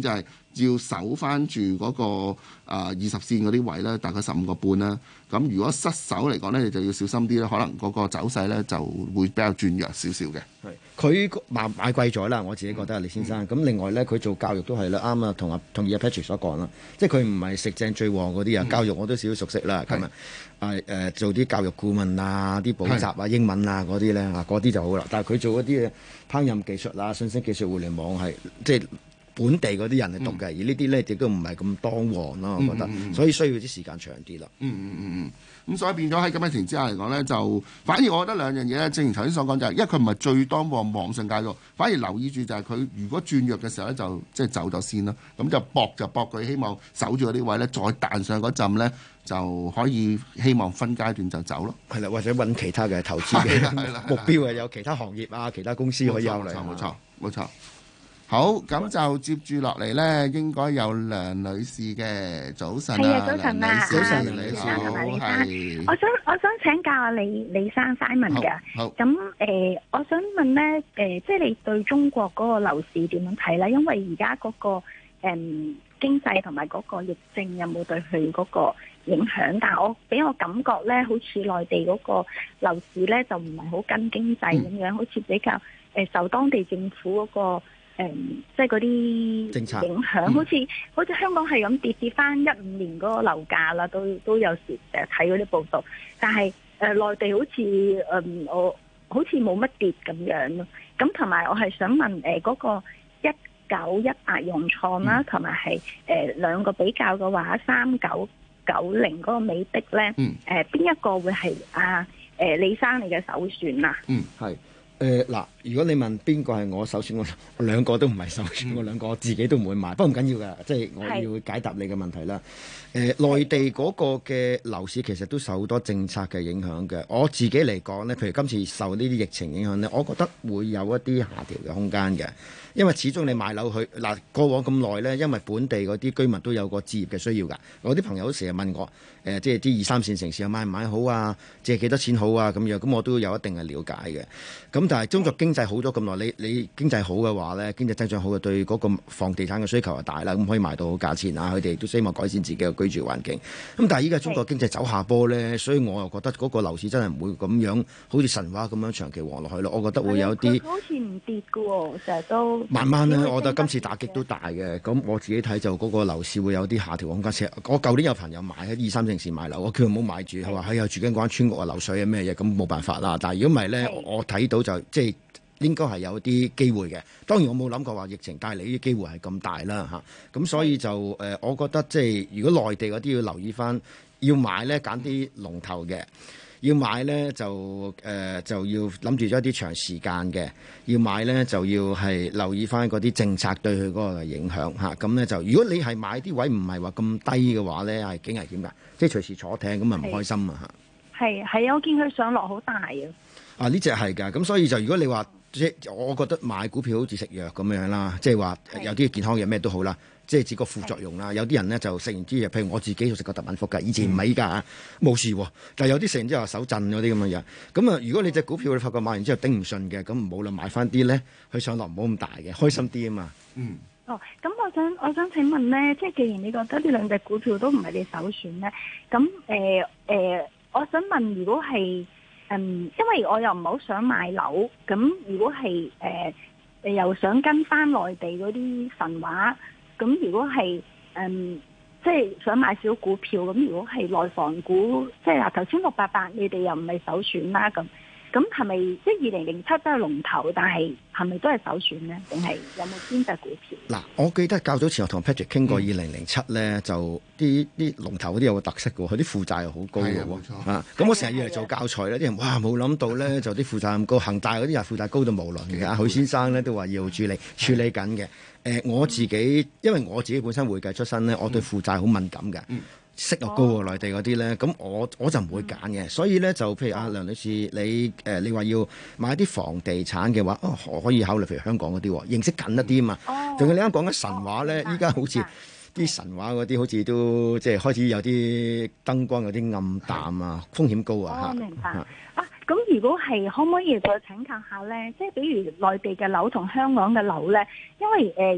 要守翻住嗰個啊二十線嗰啲位咧，大概十五個半啦。咁如果失守嚟講咧，你就要小心啲咧，可能嗰個走勢咧就會比較轉弱少少嘅。 係佢買買貴咗啦，我自己覺得李先生。咁、嗯、另外咧，佢做教育都係啦，啱啊，同阿同意阿 Patrick 所講啦，即係佢唔係食正最旺嗰啲啊。教育我都少少熟悉啦，咁啊誒誒做啲教育顧問啊、啲補習啊、英文啊嗰啲咧啊，嗰啲就好啦。但係佢做嗰啲烹飪技術啊、信息技術、互聯網係即係本地嗰啲人嚟讀嘅，嗯、而呢啲咧亦都唔係咁當旺咯，我覺得，嗯嗯嗯、所以需要啲時間長啲啦。 嗯嗯嗯嗯。咁所以變咗喺咁嘅情形之下嚟講咧，就反而我覺得兩樣嘢咧，正如頭先所講就係、是，因為佢唔係最當旺網上教育，反而留意住就係佢如果轉弱嘅時候咧，就即係走咗先咯。咁就搏就搏佢，希望守住嗰啲位咧，再彈上嗰陣咧，就可以希望分階段就走咯。 係啦，或者揾其他嘅投資嘅目標啊，有其他行業啊，其他公司可以考慮。 冇錯，冇錯。好，咁就接住落嚟咧，應該有梁女士嘅早晨啊， 係啊，早晨啊， 早晨， 梁女士同埋李生，我想我想請教下李李生 Simon 嘅， 好， 咁誒、呃，我想問咧，誒、呃，即係你對中國嗰個樓市點樣睇咧？因為而家嗰個誒、嗯、經濟同埋嗰個疫症有冇對佢嗰個影響？但係我俾我感覺咧，好似內地嗰個樓市咧就唔係好跟經濟咁樣，嗯、好似比較誒、呃、受當地政府嗰、嗰個。誒、嗯，即係嗰啲政策影響，好似好似香港係咁跌跌翻一五年嗰個樓價啦，都都有時誒睇嗰啲報道。但係誒、呃、內地好似誒、嗯、我好似冇乜跌咁樣咯。咁同埋我係想問誒嗰、呃嗰個一九一八融創啦，同埋係誒兩個比較嘅話，三九九零嗰個美的咧，誒邊、 嗯呃、一個會係啊誒李生你嘅首選啊？ 嗯，係。誒嗱、呃，如果你問邊個係我首選，我我兩個都唔係首選，嗯、我兩個我自己都唔會買，不過唔緊要㗎，即係我要解答你嘅問題啦。誒、呃，內地嗰個嘅樓市其實都受好多政策嘅影響嘅。我自己嚟講呢，譬如今次受呢啲疫情影響呢，我覺得會有一啲下調嘅空間嘅。因為始終你買樓去嗱過往咁耐呢，因為本地嗰啲居民都有個置業嘅需要㗎。我啲朋友都成日問我，誒、呃、即係啲二三線城市買唔買好啊？借幾多錢好啊？咁樣咁我都有一定嘅了解嘅。咁但係中國經濟好咗咁耐，你你經濟好嘅話呢，經濟增長好嘅，對嗰個房地產嘅需求係大啦，咁可以賣到好價錢啊！佢哋都希望改善自己嘅居住環境。咁但係依家中國經濟走下坡呢，所以我又覺得嗰個樓市真係唔會咁樣好似神話咁樣長期旺落去咯。我覺得會有啲好似唔跌㗎喎，成日都。 慢慢咧，我覺得今次打擊都大嘅。咁我自己睇就嗰個樓市會有啲下調空間。我舊年有朋友買喺二三城市買樓，我叫佢唔好買住，佢話係啊住緊嗰間村屋啊漏水啊咩嘢，咁冇辦法啦。但係如果唔係咧，我睇到就即係應該係有啲機會嘅。當然我冇諗過話疫情帶嚟呢啲機會係咁大啦嚇。咁所以就誒、呃，我覺得即係如果內地嗰啲要留意翻，要買咧揀啲龍頭嘅。要買呢，就誒、呃、就要諗住咗一啲長時間嘅，要買呢，就要係留意翻嗰啲政策對佢嗰個影響嚇。咁、啊、呢，就如果你係買啲位唔係話咁低嘅話呢，係幾危險㗎，即係隨時坐艇咁啊唔開心啊嚇。 係係啊，我見佢上落好大啊。 啊呢隻係㗎，咁所以就如果你話即係我覺得買股票好似食藥咁樣啦，即係話有啲健康嘢咩都好啦。即係指個副作用啦，有啲人咧就食完啲嘢，譬如我自己就食過特敏福㗎，以前唔係依家冇事喎，但係有啲食完之後手震嗰啲咁嘅嘢。咁啊，如果你隻股票你發覺買完之後頂唔順嘅，咁唔好啦，買翻啲咧，佢上落唔好咁大嘅，開心啲啊嘛。嗯。 哦，咁我想我想請問咧，即係既然你覺得呢兩隻股票都唔係你首選咧，咁誒誒，我想問，如果係嗯，因為我又唔係好想買樓，咁如果係誒誒又想跟翻內地嗰啲神話。咁如果係誒、嗯，即係想買少股票，咁如果係內房股，即係嗱頭先六八八，你哋又唔係首選啦，咁咁係咪即係二零零七都係龍頭，但係係咪都係首選呢？定係有冇邊隻股票？ 嗱，我記得較早前我同 Patrick 傾過二零零七咧，嗯、就啲啲龍頭嗰啲有個特色嘅喎，佢啲負債又好高嘅喎，啊，咁我成日以嚟做教材咧，啲人哇冇諗到咧，就啲負債咁高，恒大嗰啲人負債高到無倫嘅，阿許先生咧都話要處理處理緊嘅。誒、呃、我自己，因為我自己本身會計出身咧，我對負債好敏感嘅，嗯、息又高喎，內地嗰啲咧，咁我我就唔會揀嘅。所以咧就譬如阿梁女士，你誒、呃、你話要買啲房地產嘅話，哦可以考慮譬如香港嗰啲，認識緊一啲啊嘛。仲有你啱講緊神話咧，依家好似啲神話嗰啲，好似都即係開始有啲燈光有啲暗淡啊，風險高啊嚇。 哦，明白啊。咁如果係可唔可以再請教下咧？即係比如內地嘅樓同香港嘅樓咧，因為誒誒、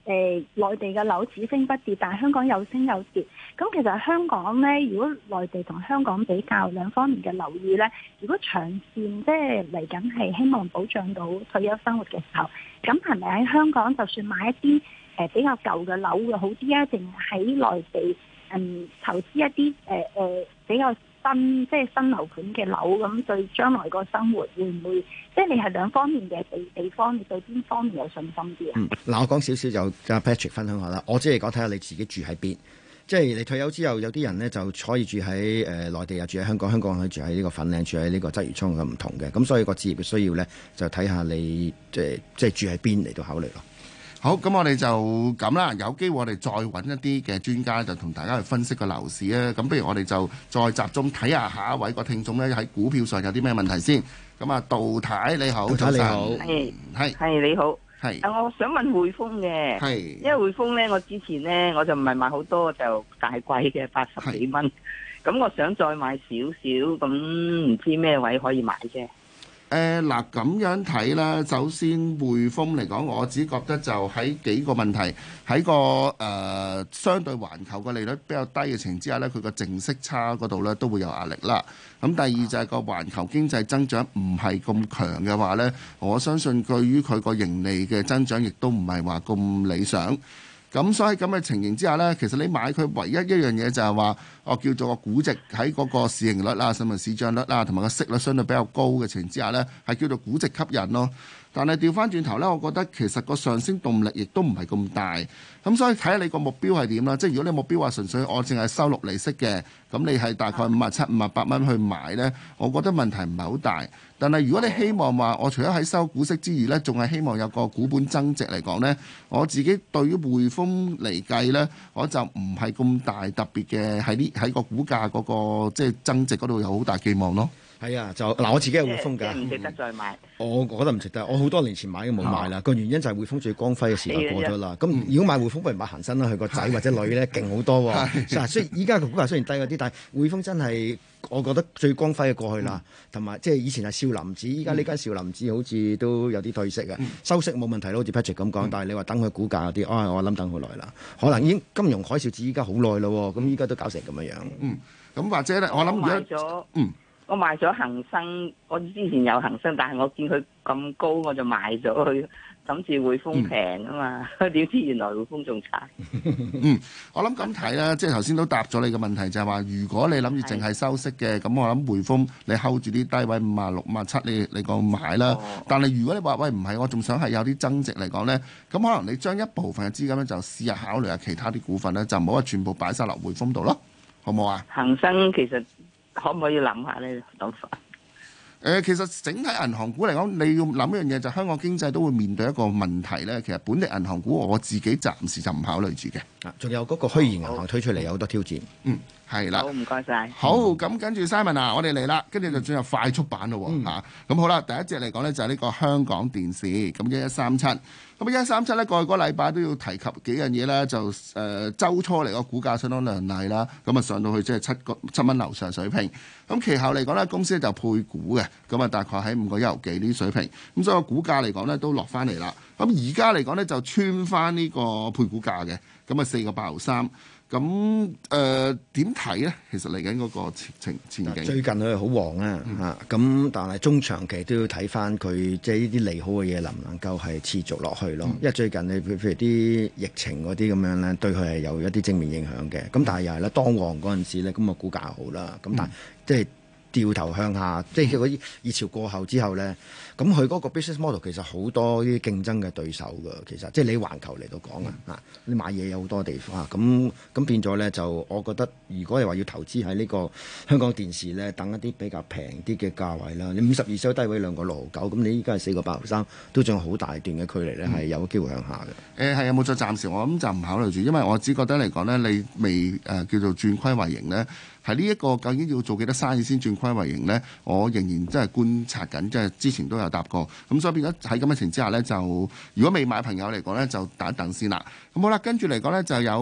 誒內地嘅樓只升不跌，但係香港有升有跌。咁其實香港咧，如果內地同香港比較兩方面嘅樓宇咧，如果長線即係嚟緊係希望保障到退休生活嘅時候，咁係咪喺香港就算買一啲誒、呃、比較舊嘅樓會好啲啊？定喺內地嗯投資一啲誒誒比較新即係新樓盤嘅樓，咁對將來個生活會唔會即係你係兩方面嘅地地方，你對邊方面有信心啲啊？ 嗯，嗱，我講少少就阿 Patrick 分享下啦。我只係講睇下你自己住喺邊，即係你退休之後有啲人呢就可以住喺誒內地啊，住喺香港，香港可以住喺呢個粉嶺，住喺呢個鰂魚涌咁唔同嘅。咁所以個置業嘅需要呢，就睇下你即係即係住喺邊嚟到考慮咯。 好，咁我哋就咁啦，有機會我哋再揾一啲嘅專家就同大家去分析個樓市啊。咁不如我哋就再集中睇下下一位個聽眾咧喺股票上有啲咩問題先。咁啊，杜太你好， 杜太你好， 係係係你好， 係。 啊，我想問匯豐嘅， 係， 因為匯豐咧，我之前咧我就唔係買好多，就大貴嘅八十幾蚊，咁我想再買少少，咁唔知咩位可以買啫？ 誒嗱咁樣睇啦，首先匯豐嚟講，我只覺得就喺幾個問題，喺個誒、呃、相對環球個利率比較低嘅情況之下呢，佢個淨息差嗰度呢都會有壓力啦。咁第二就係個環球經濟增長唔係咁強嘅話呢，我相信對於佢個盈利嘅增長亦都唔係話咁理想。咁所以咁嘅情形之下呢，其實你買佢唯一一樣嘢就係話，我叫做個估值喺嗰個市盈率啦、甚至市漲率啦，同埋個息率相對比較高嘅情形之下呢，係叫做估值吸引咯。但係調翻轉頭呢，我覺得其實個上升動力亦都唔係咁大。咁所以睇下你個目標係點啦。即係如果你目標話純粹我淨係收六厘息嘅，咁你係大概五啊七、五啊八蚊去買呢，我覺得問題唔係好大。但係如果你希望話，我除咗喺收股息之餘呢，仲係希望有個股本增值嚟講呢，我自己對於匯豐嚟計呢，我就唔係咁大特別嘅喺呢喺個股價嗰個即係增值嗰度有好大寄望咯。 係啊，就嗱我自己係匯豐㗎， 唔值得再買。 我覺得唔值得，我好多年前買都冇買啦。個、哦、原因就係匯豐最光輝嘅時代過咗啦。咁如果買匯豐，不如買恒生啦。佢個仔或者女咧勁好多喎。嗱，雖然依家個股價雖然低嗰啲，但係匯豐真係我覺得最光輝嘅過去啦。同埋即係以前係少林寺，依家呢間少林寺好似都有啲退色啊。嗯、收息冇問題咯，好似 Patrick 咁講。嗯、但係你話等佢股價嗰啲，啊、哦，我諗等好耐啦。可能已經金融海嘯至依家好耐咯。咁依家都搞成咁樣樣。嗯，咁或者咧，我諗買咗，嗯。我賣咗恒生，我之前有恒生，但係我見佢咁高，我就賣咗佢，諗住匯豐平啊嘛，點、嗯、知原來匯豐仲差。 嗯，我諗咁睇啦，即係頭先都答咗你嘅問題，就係、是、話如果你諗住淨係收息嘅，咁我諗匯豐你 hold 住啲低位五啊六、五啊七，你你個買啦。哦、但係如果你話喂唔係，我仲想係有啲增值嚟講呢，咁可能你將一部分嘅資金咧就試下考慮下其他啲股份咧，就唔好話全部擺晒落匯豐度咯，好唔好啊？ 恒生其實。可唔可以諗下呢諗法？ 誒，其實整體銀行股嚟講，你要諗一樣嘢，就香港經濟都會面對一個問題咧。其實本地銀行股我自己暫時就唔考慮住嘅。啊，仲有嗰個虛擬銀行推出嚟有好多挑戰。嗯，係啦。 好，唔該晒。 好，咁跟住 Simon 啊，我哋嚟啦，跟住就進入快速版咯喎嚇。咁好啦，第一隻嚟講咧就係呢個香港電視，咁一一三七。咁一一三七咧，過去個禮拜都要提及幾樣嘢啦，就誒、呃、週初嚟個股價相當亮麗啦，咁啊上到去即係七個七蚊樓上水平。咁其後嚟講咧，公司就配股嘅，咁啊大概喺五個一毫幾呢啲水平。咁所以個股價嚟講咧都落翻嚟啦。咁而家嚟講咧就穿翻呢個配股價嘅，咁啊四個八毫三。咁誒點睇咧？其實嚟緊嗰個前前前景， 最近佢係好旺啊嚇，咁、嗯、但係中長期都要睇翻佢即係呢啲利好嘅嘢能唔能夠係持續落去咯。嗯、因為最近你譬如啲疫情嗰啲咁樣咧，對佢係有一啲正面影響嘅。咁但係又係咧，當旺嗰陣時咧，咁個股價好啦。咁但係、嗯、即係掉頭向下，即係嗰啲熱潮過後之後咧，咁佢嗰個 business model 其實好多啲競爭嘅對手㗎。其實即係你環球嚟到講啊，嚇、嗯、你買嘢有好多地方啊，咁咁變咗咧就我覺得，如果你話要投資喺呢個香港電視咧，等一啲比較平啲嘅價位啦，你五十二收低位兩個六毫九，咁你依家係四個八毫三，都仲有好大段嘅距離咧，係有機會向下嘅。 誒係有冇再暫時？我諗就唔考慮住，因為我只覺得嚟講咧，你未誒、呃、叫做轉虧為盈咧。係呢一個究竟要做幾多生意先轉虧為盈呢？我仍然真係觀察緊，即係之前都有答過。咁所以變咗喺咁嘅情況之下呢，就如果未買朋友嚟講呢，就等一等先啦。咁好啦，跟住嚟講呢，就有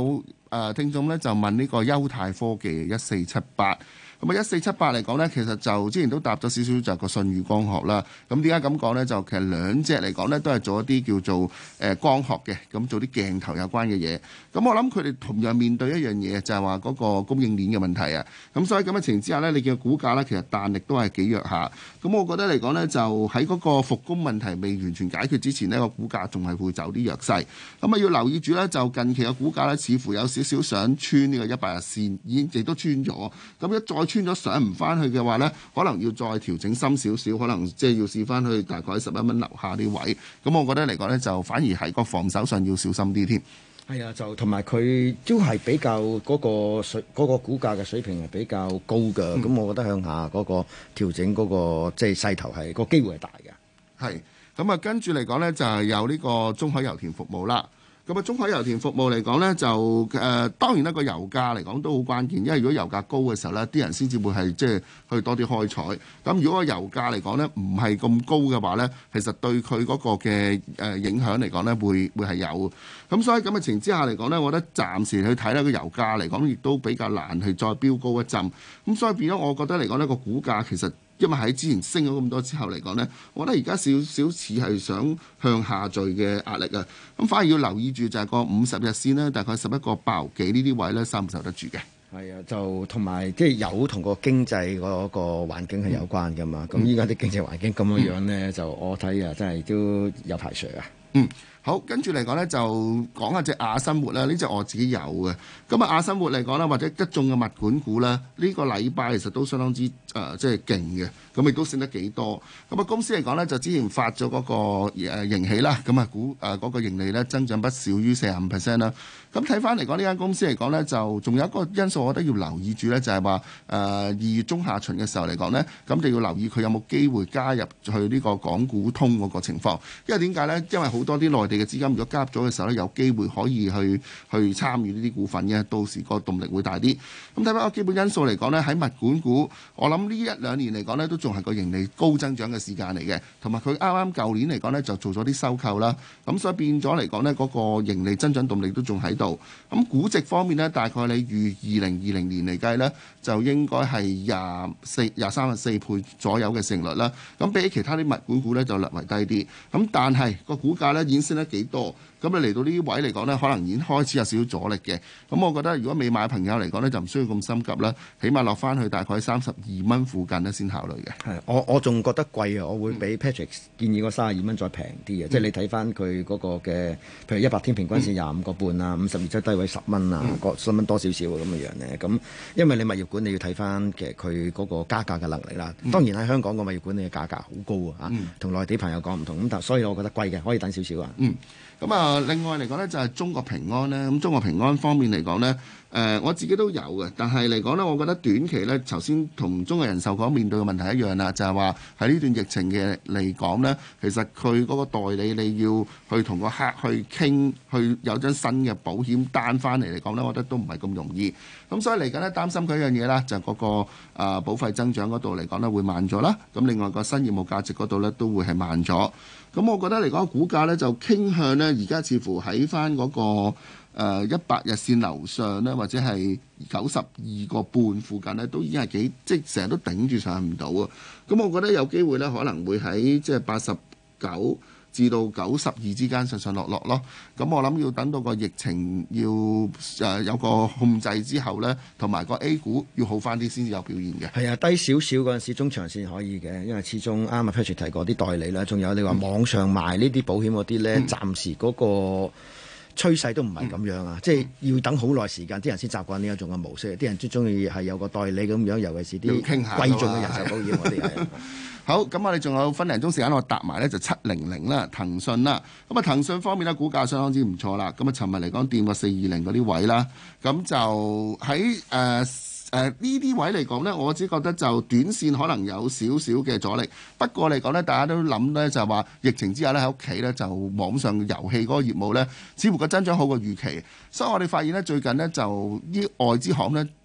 誒聽眾咧就問呢個優泰科技一四七八。咁啊，一四七八嚟講呢，其實就之前都答咗少少，就係個舜宇光學啦。咁點解咁講呢？就其實兩隻嚟講呢，都係做一啲叫做誒光學嘅，咁做啲鏡頭有關嘅嘢。咁我諗佢哋同樣面對一樣嘢，就係話嗰個供應鏈嘅問題啊。咁所以咁嘅情況之下呢，你見股價呢，其實彈力都係幾弱下。咁我覺得嚟講呢，就喺嗰個復工問題未完全解決之前呢，個股價仲係會走啲弱勢。咁啊，要留意住呢，就近期嘅股價呢，似乎有少少想穿呢個一百日線，已經亦都穿咗。咁一再穿咗上唔翻去嘅話呢，可能要再調整深少少，可能即係要試翻去大概十一蚊樓下啲位。咁我覺得嚟講呢，就反而係個防守上要小心啲添。 係啊，就同埋佢都係比較嗰個水嗰、嗰個股價嘅水平係比較高嘅。咁、嗯、我覺得向下嗰個調整嗰、嗰個即係勢頭係、嗰個機會係大嘅。 係咁啊，跟住嚟講呢，就係有呢個中海油田服務啦。咁啊，中海油田服務嚟講呢，就誒、呃、當然啦，個油價嚟講都好關鍵，因為如果油價高嘅時候呢，啲人先至會係即係去多啲開採。咁如果個油價嚟講呢，唔係咁高嘅話呢，其實對佢嗰個嘅誒影響嚟講呢，會會係有。咁所以咁嘅情況之下嚟講呢，我覺得暫時去睇呢個油價嚟講，亦都比較難去再飆高一陣。咁所以變咗，我覺得嚟講呢個股價其實。因為喺之前升咗咁多之後嚟講呢，我覺得而家少少似係想向下墜嘅壓力啊，咁反而要留意住就係個五十日線呢，大概十一個八毫幾呢啲位呢，受唔受得住嘅？ 係啊，就同埋即係有同個經濟嗰個環境係有關㗎嘛。咁依家啲經濟環境咁樣樣呢，嗯、就我睇啊，真係都有排水啊。 嗯。好，跟住嚟講呢，就講下隻亞生活啦。呢隻我自己有嘅。咁啊，亞生活嚟講啦，或者一眾嘅物管股啦，呢、呢個禮拜其實都相當之誒、呃，即係勁嘅。咁亦都升得幾多。咁啊，公司嚟講呢，就之前發咗嗰個誒盈喜啦，咁啊股誒嗰個盈利呢，增長不少於四十五 percent 啦。咁睇翻嚟講，呢間公司嚟講呢，就仲有一個因素，我覺得要留意住呢，就係話誒二月中下旬嘅時候嚟講呢，咁就要留意佢有冇機會加入去呢個港股通嗰個情況。因為點解呢？因為好多啲內地嘅資金如果加入咗嘅時候咧，有機會可以去去參與呢啲股份嘅，到時個動力會大啲。咁睇翻個基本因素嚟講呢，喺物管股，我諗呢一兩年嚟講呢，都仲係個盈利高增長嘅時間嚟嘅，同埋佢啱啱舊年嚟講呢，就做咗啲收購啦，咁所以變咗嚟講呢，嗰個盈利增長動力都仲喺度。咁估值方面呢，大概你預二零二零年嚟計呢，就應該係廿四、廿三、四倍左右嘅市盈率啦。咁比起其他啲物管股呢，就略為低啲。咁但係個股價呢，已經升得幾多？咁你嚟到呢啲位嚟講呢，可能已經開始有少少阻力嘅。咁我覺得如果未買嘅朋友嚟講呢，就唔需要咁心急啦。起碼落翻去大概三十二蚊附近呢，先考慮嘅。 係，我我仲覺得貴啊！我會比 Patrick 建議個三十二蚊再平啲嘅。即係你睇翻佢嗰個嘅，譬如一百天平均線廿五個半啊，五十二周低位十蚊啊，個十蚊多少少咁嘅樣咧。咁因為你物業管你要睇翻嘅佢嗰個加價嘅能力啦。當然喺香港個物業管理嘅價格好高啊，同內地朋友講唔同。咁但所以我覺得貴嘅，可以等少少啊。 嗯。咁啊，另外嚟講呢，就係中國平安呢。咁中國平安方面嚟講呢，誒、呃、我自己都有嘅。但係嚟講呢，我覺得短期呢，頭先同中國人壽講面對嘅問題一樣啦，就係話喺呢段疫情嘅嚟講呢，其實佢嗰個代理你要去同個客去傾，去有張新嘅保險單翻嚟嚟講呢，我覺得都唔係咁容易。咁所以嚟緊呢，擔心佢一樣嘢啦，就係、是、嗰、那個誒、呃、保費增長嗰度嚟講呢，會慢咗啦。咁另外個新業務價值嗰度呢，都會係慢咗。咁我覺得嚟講，股價咧就傾向咧，而家似乎喺翻嗰個一百日線樓上咧，或者係九十二個半附近咧，都已經係幾即係成日都頂住上唔到啊！咁我覺得有機會咧，可能會喺即係八十九至到九十二之間上上落落咯。咁我諗要等到個疫情要誒有個控制之後呢，同埋個 A 股要好翻啲先至有表現嘅。 係啊，低少少嗰陣時中長線可以嘅，因為始終啱啊 Patrick 提過啲代理啦，仲有你話網上賣呢啲保險嗰啲呢，嗯、暫時嗰個趨勢都唔係咁樣啊，嗯、即係要等好耐時間，啲人先習慣呢一種嘅模式。啲人最中意係有個代理咁樣，尤其是啲貴重嘅人壽保險嗰啲係。 好，咁我哋仲有分零鐘時間，我搭埋呢就七零零啦，騰訊啦。咁啊，騰訊方面呢，股價相當之唔錯啦。咁啊，尋日嚟講掂過四二零嗰啲位啦。咁就喺誒誒呢啲位嚟講呢，我只覺得就短線可能有少少嘅阻力。不過嚟講呢，大家都諗呢，就係話疫情之下呢，喺屋企呢，就網上遊戲嗰個業務呢，似乎個增長好過預期。所以我哋發現呢，最近呢，就啲外資行呢，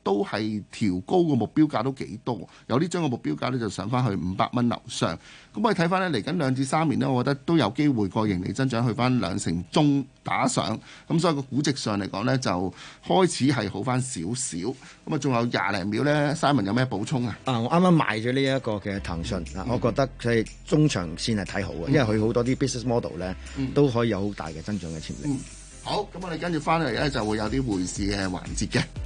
都係調高個目標價都幾多，有啲將個目標價咧就上翻去五百蚊樓上。咁我哋睇翻咧嚟緊兩至三年呢，我覺得都有機會個盈利增長去翻兩成中打上。咁所以個估值上嚟講呢，就開始係好翻少少。咁啊，仲有廿零秒呢 Simon 有咩補充啊？ 啊，我啱啱買咗呢一個嘅騰訊啊，我覺得佢係中長線係睇好嘅，因為佢好多啲 business model 咧都可以有好大嘅增長嘅潛力。 嗯，好，咁我哋跟住翻嚟咧就會有啲匯市嘅環節嘅。